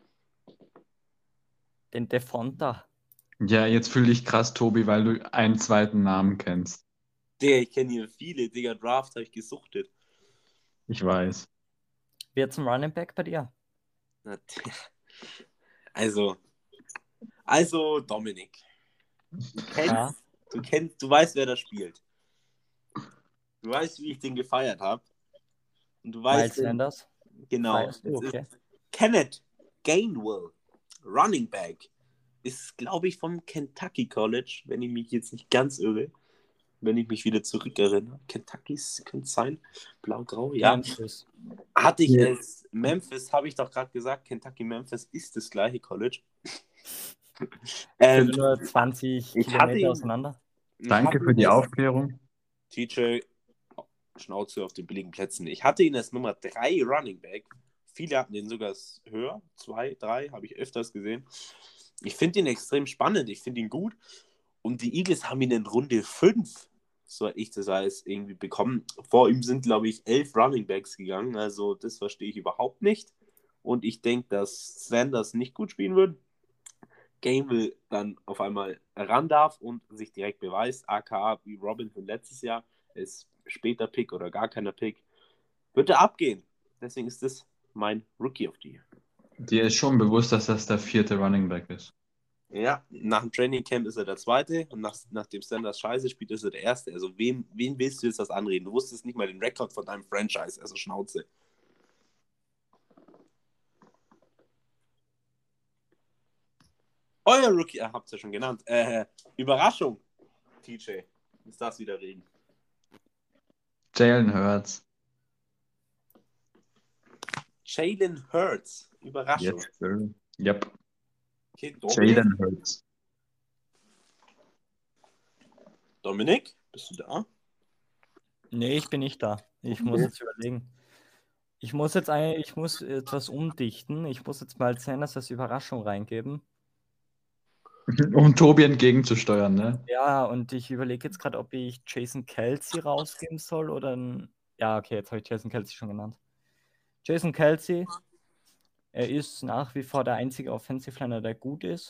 Den Defonta. Ja, jetzt fühle ich krass, Tobi, weil du einen zweiten Namen kennst. Der, ich kenne hier viele, Digga, Draft habe ich gesuchtet. Ich weiß. Wer zum Running Back bei dir? Na, der- Also, also Dominik. Du kennst, Ja. du kennst, du weißt, wer da spielt. Du weißt, wie ich den gefeiert habe. Und du Miles weißt, Sanders. genau, Feierst du, es okay. ist Kenneth Gainwell, Running Back. Ist, glaube ich, vom Kentucky College, wenn ich mich jetzt nicht ganz irre. Wenn ich mich wieder zurückerinnere. Kentuckys könnte es sein. Blau-grau, ja. Memphis. Hatte ich Ja. es. Memphis, habe ich doch gerade gesagt. Kentucky Memphis ist das gleiche College. Sind ähm, nur zwanzig ich hatte Kilometer ihn- auseinander. ich Danke hatte für ihn die als- Aufklärung. T J, Schnauze auf den billigen Plätzen. Ich hatte ihn als Nummer drei Running Back. Viele hatten ihn sogar höher. zwei, drei, habe ich öfters gesehen. Ich finde ihn extrem spannend. Ich finde ihn gut. Und die Eagles haben ihn in Runde fünf, so ich das weiß, irgendwie bekommen. Vor ihm sind, glaube ich, elf Running Backs gegangen. Also das verstehe ich überhaupt nicht. Und ich denke, dass Sanders nicht gut spielen wird. Gainwell dann auf einmal ran darf und sich direkt beweist, aka wie Robinson letztes Jahr, ist später Pick oder gar keiner Pick, wird er abgehen. Deswegen ist das mein Rookie of the Year. Dir ist schon bewusst, dass das der vierte Running Back ist. Ja, nach dem Training Camp ist er der Zweite und nach, nachdem Sanders scheiße spielt, ist er der Erste. Also wem, wen willst du jetzt das anreden? Du wusstest nicht mal den Rekord von deinem Franchise, also Schnauze. Euer Rookie, ihr habt es ja schon genannt. Äh, Überraschung, T J. Muss das wieder reden. Jalen Hurts. Jalen Hurts. Überraschung. Yes, sir. Yep. Okay, Dominik. Jalen Hurts. Dominik, bist du da? Nee, ich bin nicht da. Ich muss jetzt überlegen. Ich muss jetzt ein, ich muss etwas umdichten. Ich muss jetzt mal Sanders als Überraschung reingeben. Um Tobi entgegenzusteuern, ne? Ja, und ich überlege jetzt gerade, ob ich Jason Kelce rausgeben soll oder ein. Ja, okay, jetzt habe ich Jason Kelce schon genannt. Jason Kelce, er ist nach wie vor der einzige Offensive Liner, der gut ist.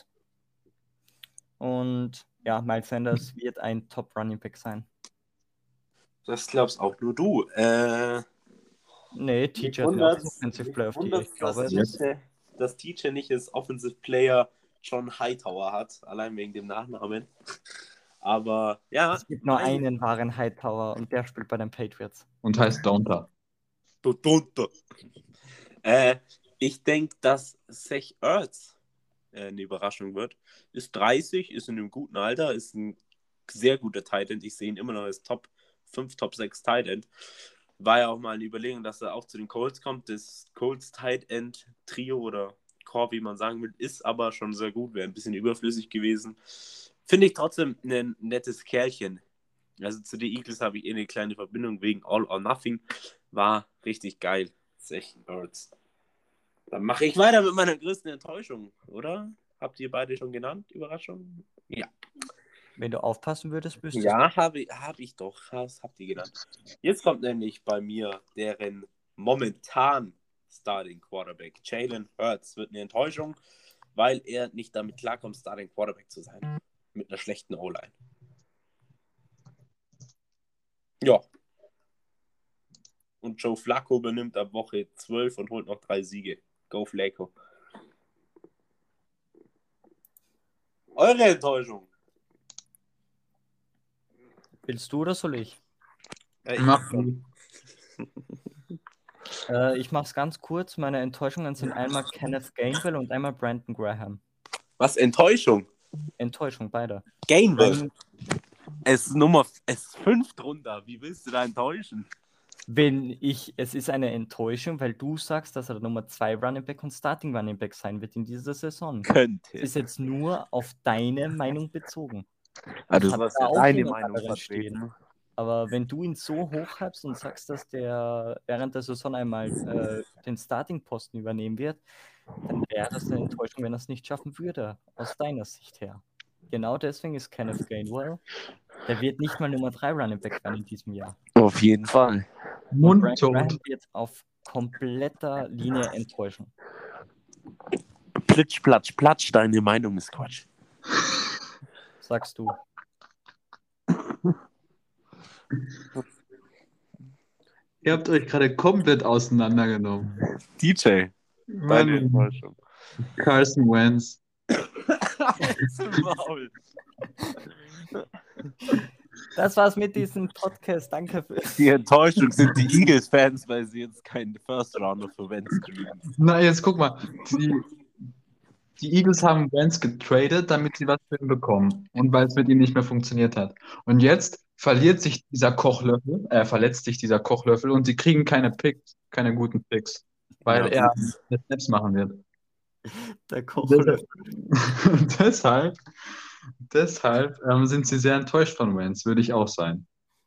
Und ja, Miles Sanders wird ein Top Running Back sein. Das glaubst auch nur du. Äh, Nee, T J hat mir auch das Offensive Player of the Year. Ich glaube, dass, das T J, dass T J nicht als Offensive Player John Hightower hat, allein wegen dem Nachnamen. Aber ja, es gibt nur mein- einen wahren Hightower und der spielt bei den Patriots. Und heißt Donta. Du Dunter. Äh, ich denke, dass Zach Ertz äh, eine Überraschung wird. Ist dreißig, ist in einem guten Alter, ist ein sehr guter Tight End. Ich sehe ihn immer noch als Top fünf, Top sechs Tight End. War ja auch mal eine Überlegung, dass er auch zu den Colts kommt. Das Colts Tight End Trio oder Core, wie man sagen will, ist aber schon sehr gut. Wäre ein bisschen überflüssig gewesen. Finde ich trotzdem ein nettes Kerlchen. Also zu den Eagles habe ich eh eine kleine Verbindung wegen All or Nothing. War richtig geil. Zach Ertz. Dann mache ich weiter mit meiner größten Enttäuschung, oder? Habt ihr beide schon genannt? Überraschung? Ja. Wenn du aufpassen würdest, müsstest Ja, habe hab ich doch. Das habt ihr genannt. Jetzt kommt nämlich bei mir deren momentan Starting Quarterback. Jalen Hurts wird eine Enttäuschung, weil er nicht damit klarkommt, Starting Quarterback zu sein. Mit einer schlechten O-Line. Ja. Und Joe Flacco benimmt ab Woche zwölf und holt noch drei Siege. Go Flacco. Eure Enttäuschung. Willst du oder soll ich? Ja, ich Mach mach du. Äh, ich mach's ganz kurz. Meine Enttäuschungen sind einmal Kenneth Gainwell und einmal Brandon Graham. Was? Enttäuschung? Enttäuschung, beide. Gainwell. Wenn, Es ist Nummer, es ist fünf drunter. Wie willst du da enttäuschen? wenn ich, es ist eine Enttäuschung, weil du sagst, dass er der Nummer zwei Running Back und Starting Running Back sein wird in dieser Saison. Könnte. Es ist jetzt nur auf deine Meinung bezogen. Ah, Ich du hab sollst da ja auch deine jemand Meinung anderen vertreten. Aber wenn du ihn so hoch habst und sagst, dass der während der Saison einmal äh, den Starting-Posten übernehmen wird, dann wäre das eine Enttäuschung, wenn er es nicht schaffen würde, aus deiner Sicht her. Genau deswegen ist Kenneth Gainwell, der wird nicht mal Nummer drei Running Back werden in diesem Jahr. Auf jeden Fall. Und Brandon Mundtot. Graham wird auf kompletter Linie enttäuschen. Plitsch, platsch, platsch, deine Meinung ist Quatsch. Sagst du. Ihr habt euch gerade komplett auseinandergenommen. D J, deine Mann, Enttäuschung. Carson Wentz. Halt's Maul. Das war's mit diesem Podcast. Danke für. Die Enttäuschung sind die Eagles-Fans, weil sie jetzt keinen First-Rounder für Wentz kriegen. Na, jetzt guck mal. Die, die Eagles haben Wentz getradet, damit sie was für ihn bekommen. Und weil es mit ihm nicht mehr funktioniert hat. Und jetzt verliert sich dieser Kochlöffel, äh, verletzt sich dieser Kochlöffel und sie kriegen keine Picks, keine guten Picks. Weil Ja, er jetzt Snaps machen wird. Der Kochlöffel. Deshalb, deshalb ähm, sind sie sehr enttäuscht von Wentz, würde ich auch sein.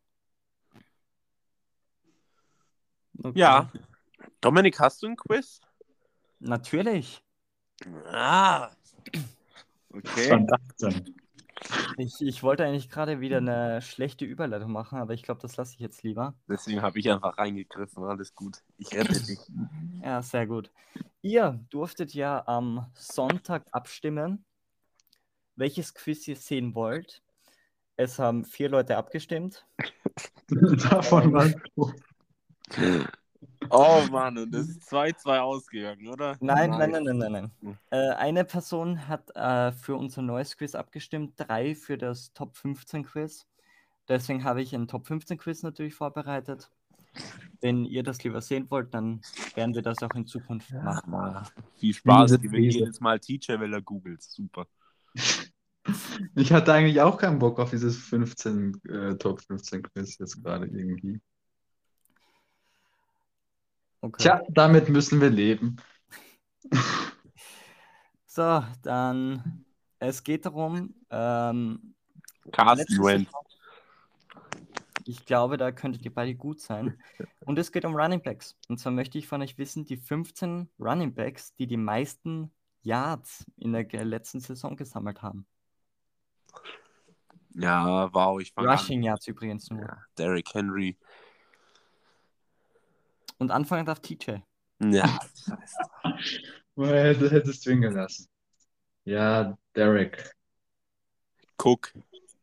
Okay. Ja. Dominik, hast du ein Quiz? Natürlich. Ah. Okay. Verdammt. Ich, ich wollte eigentlich gerade wieder eine schlechte Überleitung machen, aber ich glaube, das lasse ich jetzt lieber. Deswegen habe ich einfach reingegriffen. Alles gut. Ich rette dich. Ja, sehr gut. Ihr durftet ja am Sonntag abstimmen, welches Quiz ihr sehen wollt. Es haben vier Leute abgestimmt. Davon warst du. Oh Mann, und das ist zwei zwei ausgegangen, oder? Nein, nein, Nice. nein, nein, nein, nein. Äh, eine Person hat äh, für unser neues Quiz abgestimmt, drei für das Top fünfzehn Quiz. Deswegen habe ich ein Top fünfzehn Quiz natürlich vorbereitet. Wenn ihr das lieber sehen wollt, dann werden wir das auch in Zukunft machen. Ja, viel Spaß. Diese Die will Krise. jedes Mal Teacher, weil er googelt. Super. Ich hatte eigentlich auch keinen Bock auf dieses fünfzehn, äh, Top fünfzehn Quiz jetzt gerade irgendwie. Okay. Tja, damit müssen wir leben. So, dann, es geht darum, ähm, Carsten letzte Wentz. Saison, ich glaube, da könntet ihr beide gut sein. Und es geht um Running Backs. Und zwar möchte ich von euch wissen, die fünfzehn Running Backs, die die meisten Yards in der ge- letzten Saison gesammelt haben. Ja, wow, ich fange Rushing an. Yards übrigens nur. Ja, Derrick Henry. Und anfangen darf T J. Ja, scheiße. Well, du hättest du ihn gelassen. Ja, Derek. Cook.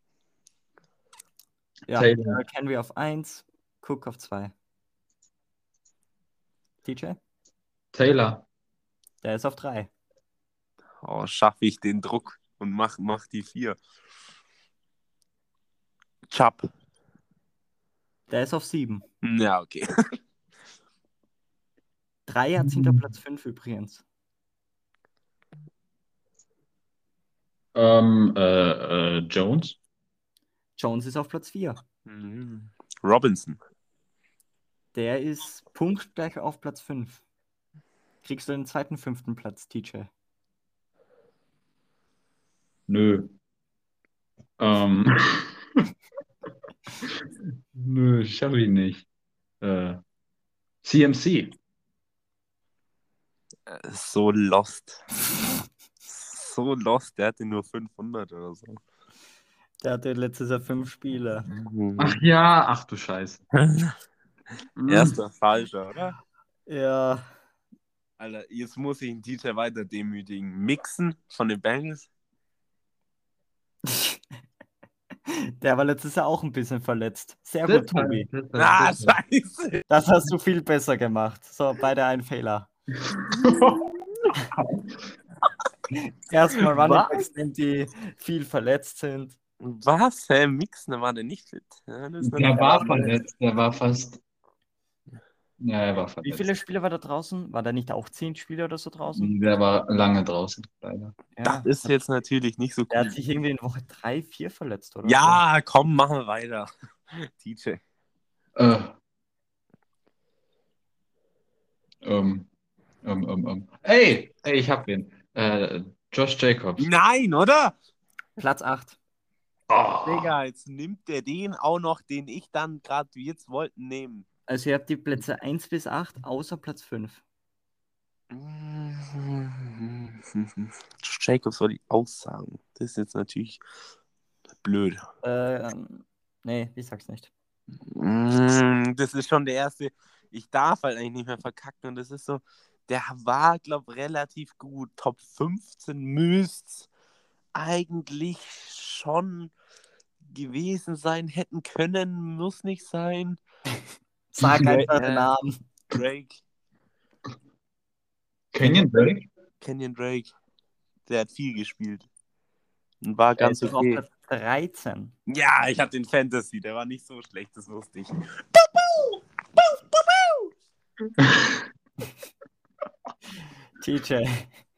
Ja, Taylor. Derrick Henry auf eins, Cook auf zwei. T J, Taylor. der ist auf drei. Oh, schaffe ich den Druck und mach, mach die vier. Chubb. Der ist auf sieben. Ja, okay. Drei Yards hinter Platz fünf übrigens. Ähm, äh, äh, Jones. Jones ist auf Platz vier. Mhm. Robinson. Der ist punktgleich auf Platz fünf. Kriegst du den zweiten, fünften Platz, T J? Nö. Ähm. Nö, schaff ich nicht. Äh, C M C. Äh, So lost. So lost, der hatte nur fünfhundert oder so. Der hatte letztes Jahr fünf Spiele. Ach ja, ach du Scheiße. Hm. Erster falscher, oder? Ja, Alter, jetzt muss ich den D J weiter demütigen. Mixen von den Bengals? der war letztes Jahr auch ein bisschen verletzt. Sehr Das gut, Tobi. war- das war- Ah, das war- scheiße. Das hast du viel besser gemacht. So, beide ein Fehler. Erstmal Running Was? Backs nehmen, die viel verletzt sind. Was? Hä? Mixner war der nicht fit? Ja, das ist Der natürlich war auch- verletzt, der war fast. Ja, er war Wie verletzt. viele Spiele war da draußen? War da nicht auch zehn Spiele oder so draußen? Der war lange draußen, leider. Ja. Das ist jetzt natürlich nicht so Der hat cool. sich irgendwie in Woche drei, vier verletzt, oder? Ja, komm, machen wir weiter. T J. Äh. Ähm, ähm, ähm, ähm. Ey, ey, ich hab ihn. Äh, Josh Jacobs. Nein, oder? So. Platz acht. Oh. Digga, jetzt nimmt der den auch noch, den ich dann gerade wie jetzt wollten nehmen. Also ihr habt die Plätze eins bis acht, außer Platz fünf. Jacobs soll die aussagen. Das ist jetzt natürlich blöd. Ähm, nee, ich sag's nicht. Mm, Das ist schon der erste. Ich darf halt eigentlich nicht mehr verkacken. Und das ist so, der war, glaube ich, relativ gut. Top fünfzehn müsste eigentlich schon gewesen sein, hätten können, muss nicht sein. Sag Ja, einfach ja. den Namen. Drake, Kenyon Drake? Kenyon Drake. Der hat viel gespielt. Und war Der ganz ist doch auf okay. Platz dreizehn. Ja, ich hatte den Fantasy, der war nicht so schlecht, das wusste ich. T J.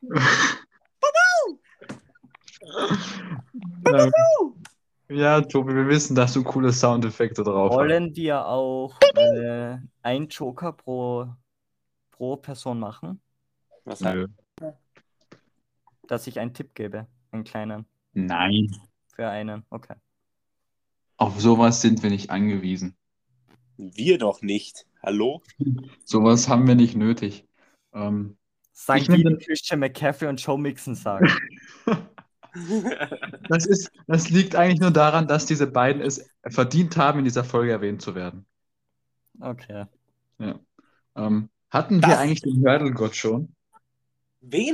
Ähm, Ja, Tobi, wir wissen, dass du coole Soundeffekte drauf hast. Wollen wir auch äh, einen Joker pro, pro Person machen, Was Nö. dass ich einen Tipp gebe? Einen kleinen. Nein. Für einen. Okay. Auf sowas sind wir nicht angewiesen. Wir doch nicht. Hallo? Sowas haben wir nicht nötig. Ähm, Sagen Ich die, nehm die den- Christian McCaffrey und Joe Mixon sagen. das ist, das liegt eigentlich nur daran, dass diese beiden es verdient haben, in dieser Folge erwähnt zu werden. Okay. Ja. Ähm, hatten Das- wir eigentlich den Hurdle-Gott schon? Wen?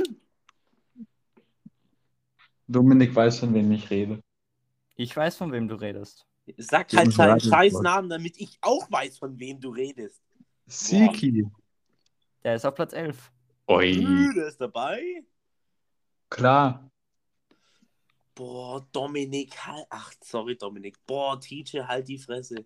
Dominik weiß, von wem ich rede. Ich weiß, von wem du redest. Sag Den halt seinen Hurdle-Gott. Scheißnamen, damit ich auch weiß, von wem du redest. Siki. Der ist auf Platz elf. Oi. Ü, der ist dabei. Klar. Boah, Dominik, halt. Ach, sorry, Dominik. Boah, T J, halt die Fresse.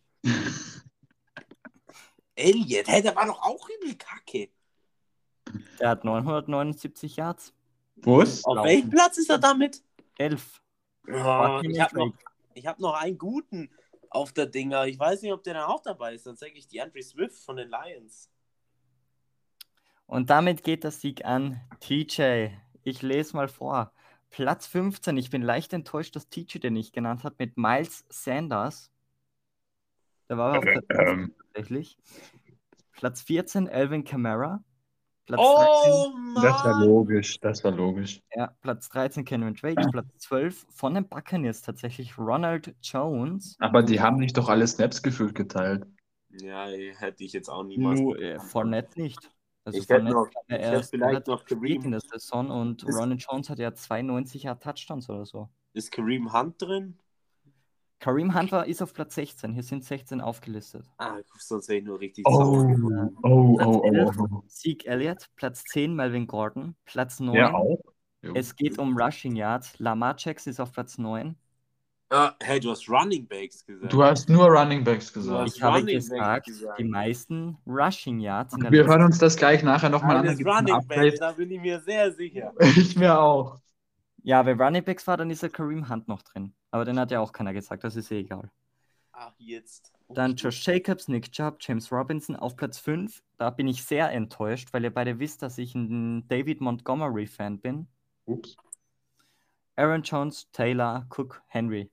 Elliot, hä, der war doch auch übel kacke. Der hat neunhundertneunundsiebzig Yards. Was? Auf Laufen. welchem Platz ist er damit? elf. Oh, Kenyon ich habe noch, Drake. ich hab noch einen guten auf der Dinger. Ich weiß nicht, ob der dann auch dabei ist. Dann sage ich die Andre Swift von den Lions. Und damit geht der Sieg an T J. Ich lese mal vor. Platz fünfzehn. Ich bin leicht enttäuscht, dass T J den nicht genannt hat, mit Miles Sanders. Der war auf Platz Ähm, tatsächlich. Platz vierzehn, Alvin Kamara. Platz Oh, Mann! das war logisch. Das war logisch. dreizehn, ja, Platz dreizehn, Kenyon Drake. Platz zwölf von den Buccaneers tatsächlich Ronald Jones. Aber die haben nicht doch alle Snaps gefühlt geteilt. Ja, hätte ich jetzt auch niemals. Nur äh, Fournette nicht. Also Ich hätte Fournette noch- kam ja ich hätte erst vielleicht relativ noch spät Kareem. in der Saison und Ist- Ronald Jones hat ja zweiundneunzig Jahre Touchdowns oder so. Ist Kareem Hunt drin? Kareem Hunt war, ist auf Platz sechzehn. Hier sind sechzehn aufgelistet. Ah, sonst wäre ich nur richtig Oh, sauer. oh, Platz oh, oh, elf, oh. Zeke Elliott. Platz zehn, Melvin Gordon. Platz neun, Ja, auch. Jo. es geht um Rushing Yards. Lamar Jackson ist auf Platz neun. Ah, hey, du hast Running Backs gesagt. Du hast nur Running Backs Du gesagt. hast Ich habe Running Back gesagt, gesagt. die meisten Rushing Yards in der Wir letzten hören uns das gleich nachher nochmal an. Da Eines gibt's ein Running Backs, Update. da bin ich mir sehr sicher. Ich mir auch. Ja, wenn Running Backs war, dann ist der Kareem Hunt noch drin. Aber den hat ja auch keiner gesagt, das ist eh egal. Ach, jetzt. Dann Josh Jacobs, Nick Chubb, James Robinson auf Platz fünf. Da bin ich sehr enttäuscht, weil ihr beide wisst, dass ich ein David Montgomery-Fan bin. Ups. Aaron Jones, Taylor, Cook, Henry.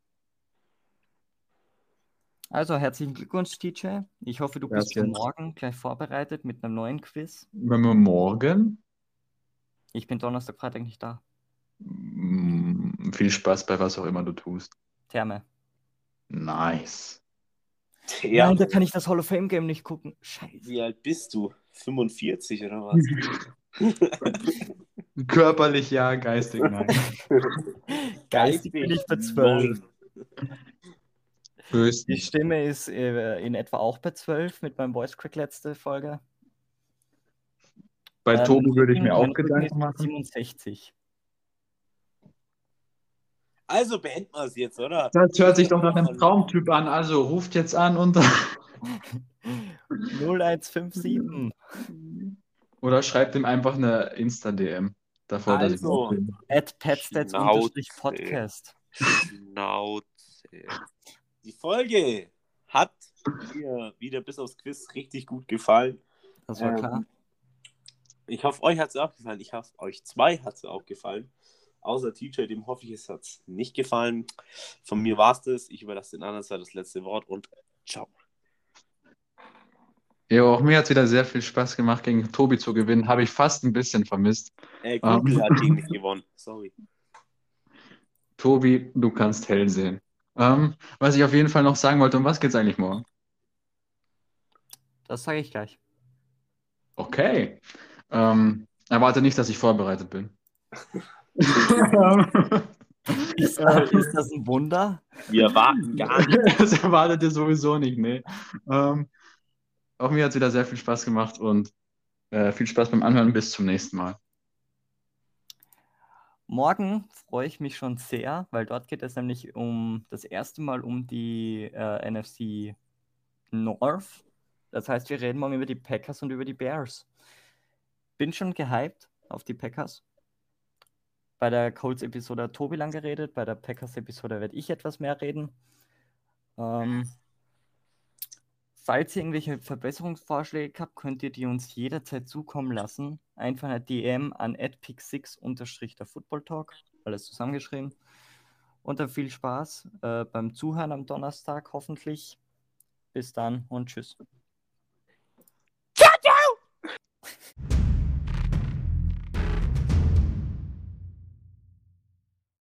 Also herzlichen Glückwunsch, T J. Ich hoffe, du bist für Gracias. morgen gleich vorbereitet mit einem neuen Quiz. Wenn wir morgen. Ich bin Donnerstag, Freitag nicht da. Mm, Viel Spaß bei was auch immer du tust. Therme. Nice. Ja. Nein, da kann ich das Hall of Fame Game nicht gucken. Scheiße. Wie alt bist du? fünfundvierzig oder was? Körperlich ja, geistig nein. Geistig bin ich bei zwölf. neun. Die Höchstens. Stimme ist äh, in etwa auch bei zwölf mit meinem Voice Crack letzte Folge. Bei Ähm, Tobi würde ich Rücken- mir auch mein Rücken ist Gedanken machen. siebenundsechzig. Also beenden wir es jetzt, oder? Das hört sich doch nach einem Traumtyp an. Also ruft jetzt an und null eins fünf sieben. oder schreibt ihm einfach eine Insta-D M. Davor, dass ich Also, aufnehme. At Padstats-Podcast. Schnauze. die Folge hat mir wieder bis aufs Quiz richtig gut gefallen. Das war Ähm, klar. Ich hoffe, euch hat es auch gefallen. Ich hoffe, euch zwei hat es auch gefallen. Außer T J, dem hoffe ich, es hat es nicht gefallen. Von mir war es das. Ich überlasse den anderen zwei das letzte Wort und ciao. Ja, auch mir hat es wieder sehr viel Spaß gemacht, gegen Tobi zu gewinnen. Habe ich fast ein bisschen vermisst. Äh, Google Ähm. hat gegen mich gewonnen. Sorry. Tobi, du kannst hell sehen. Ähm, was ich auf jeden Fall noch sagen wollte, um was geht es eigentlich morgen? Das sage ich gleich. Okay. Ähm, erwarte nicht, dass ich vorbereitet bin. Ist, ist das ein Wunder? Wir erwarten gar nicht. Das erwartet ihr sowieso nicht, nee. Ähm, auch mir hat es wieder sehr viel Spaß gemacht und äh, viel Spaß beim Anhören. Bis zum nächsten Mal. Morgen freue ich mich schon sehr, weil dort geht es nämlich um das erste Mal um die äh, N F C North. Das heißt, wir reden morgen über die Packers und über die Bears. Bin schon gehypt auf die Packers. Bei der Colts-Episode hat Tobi lang geredet, bei der Packers-Episode werde ich etwas mehr reden. Ähm, falls ihr irgendwelche Verbesserungsvorschläge habt, könnt ihr die uns jederzeit zukommen lassen. Einfach eine D M an at pick six unterstrich der Football Talk, alles zusammengeschrieben. Und dann viel Spaß äh, beim Zuhören am Donnerstag hoffentlich. Bis dann und tschüss.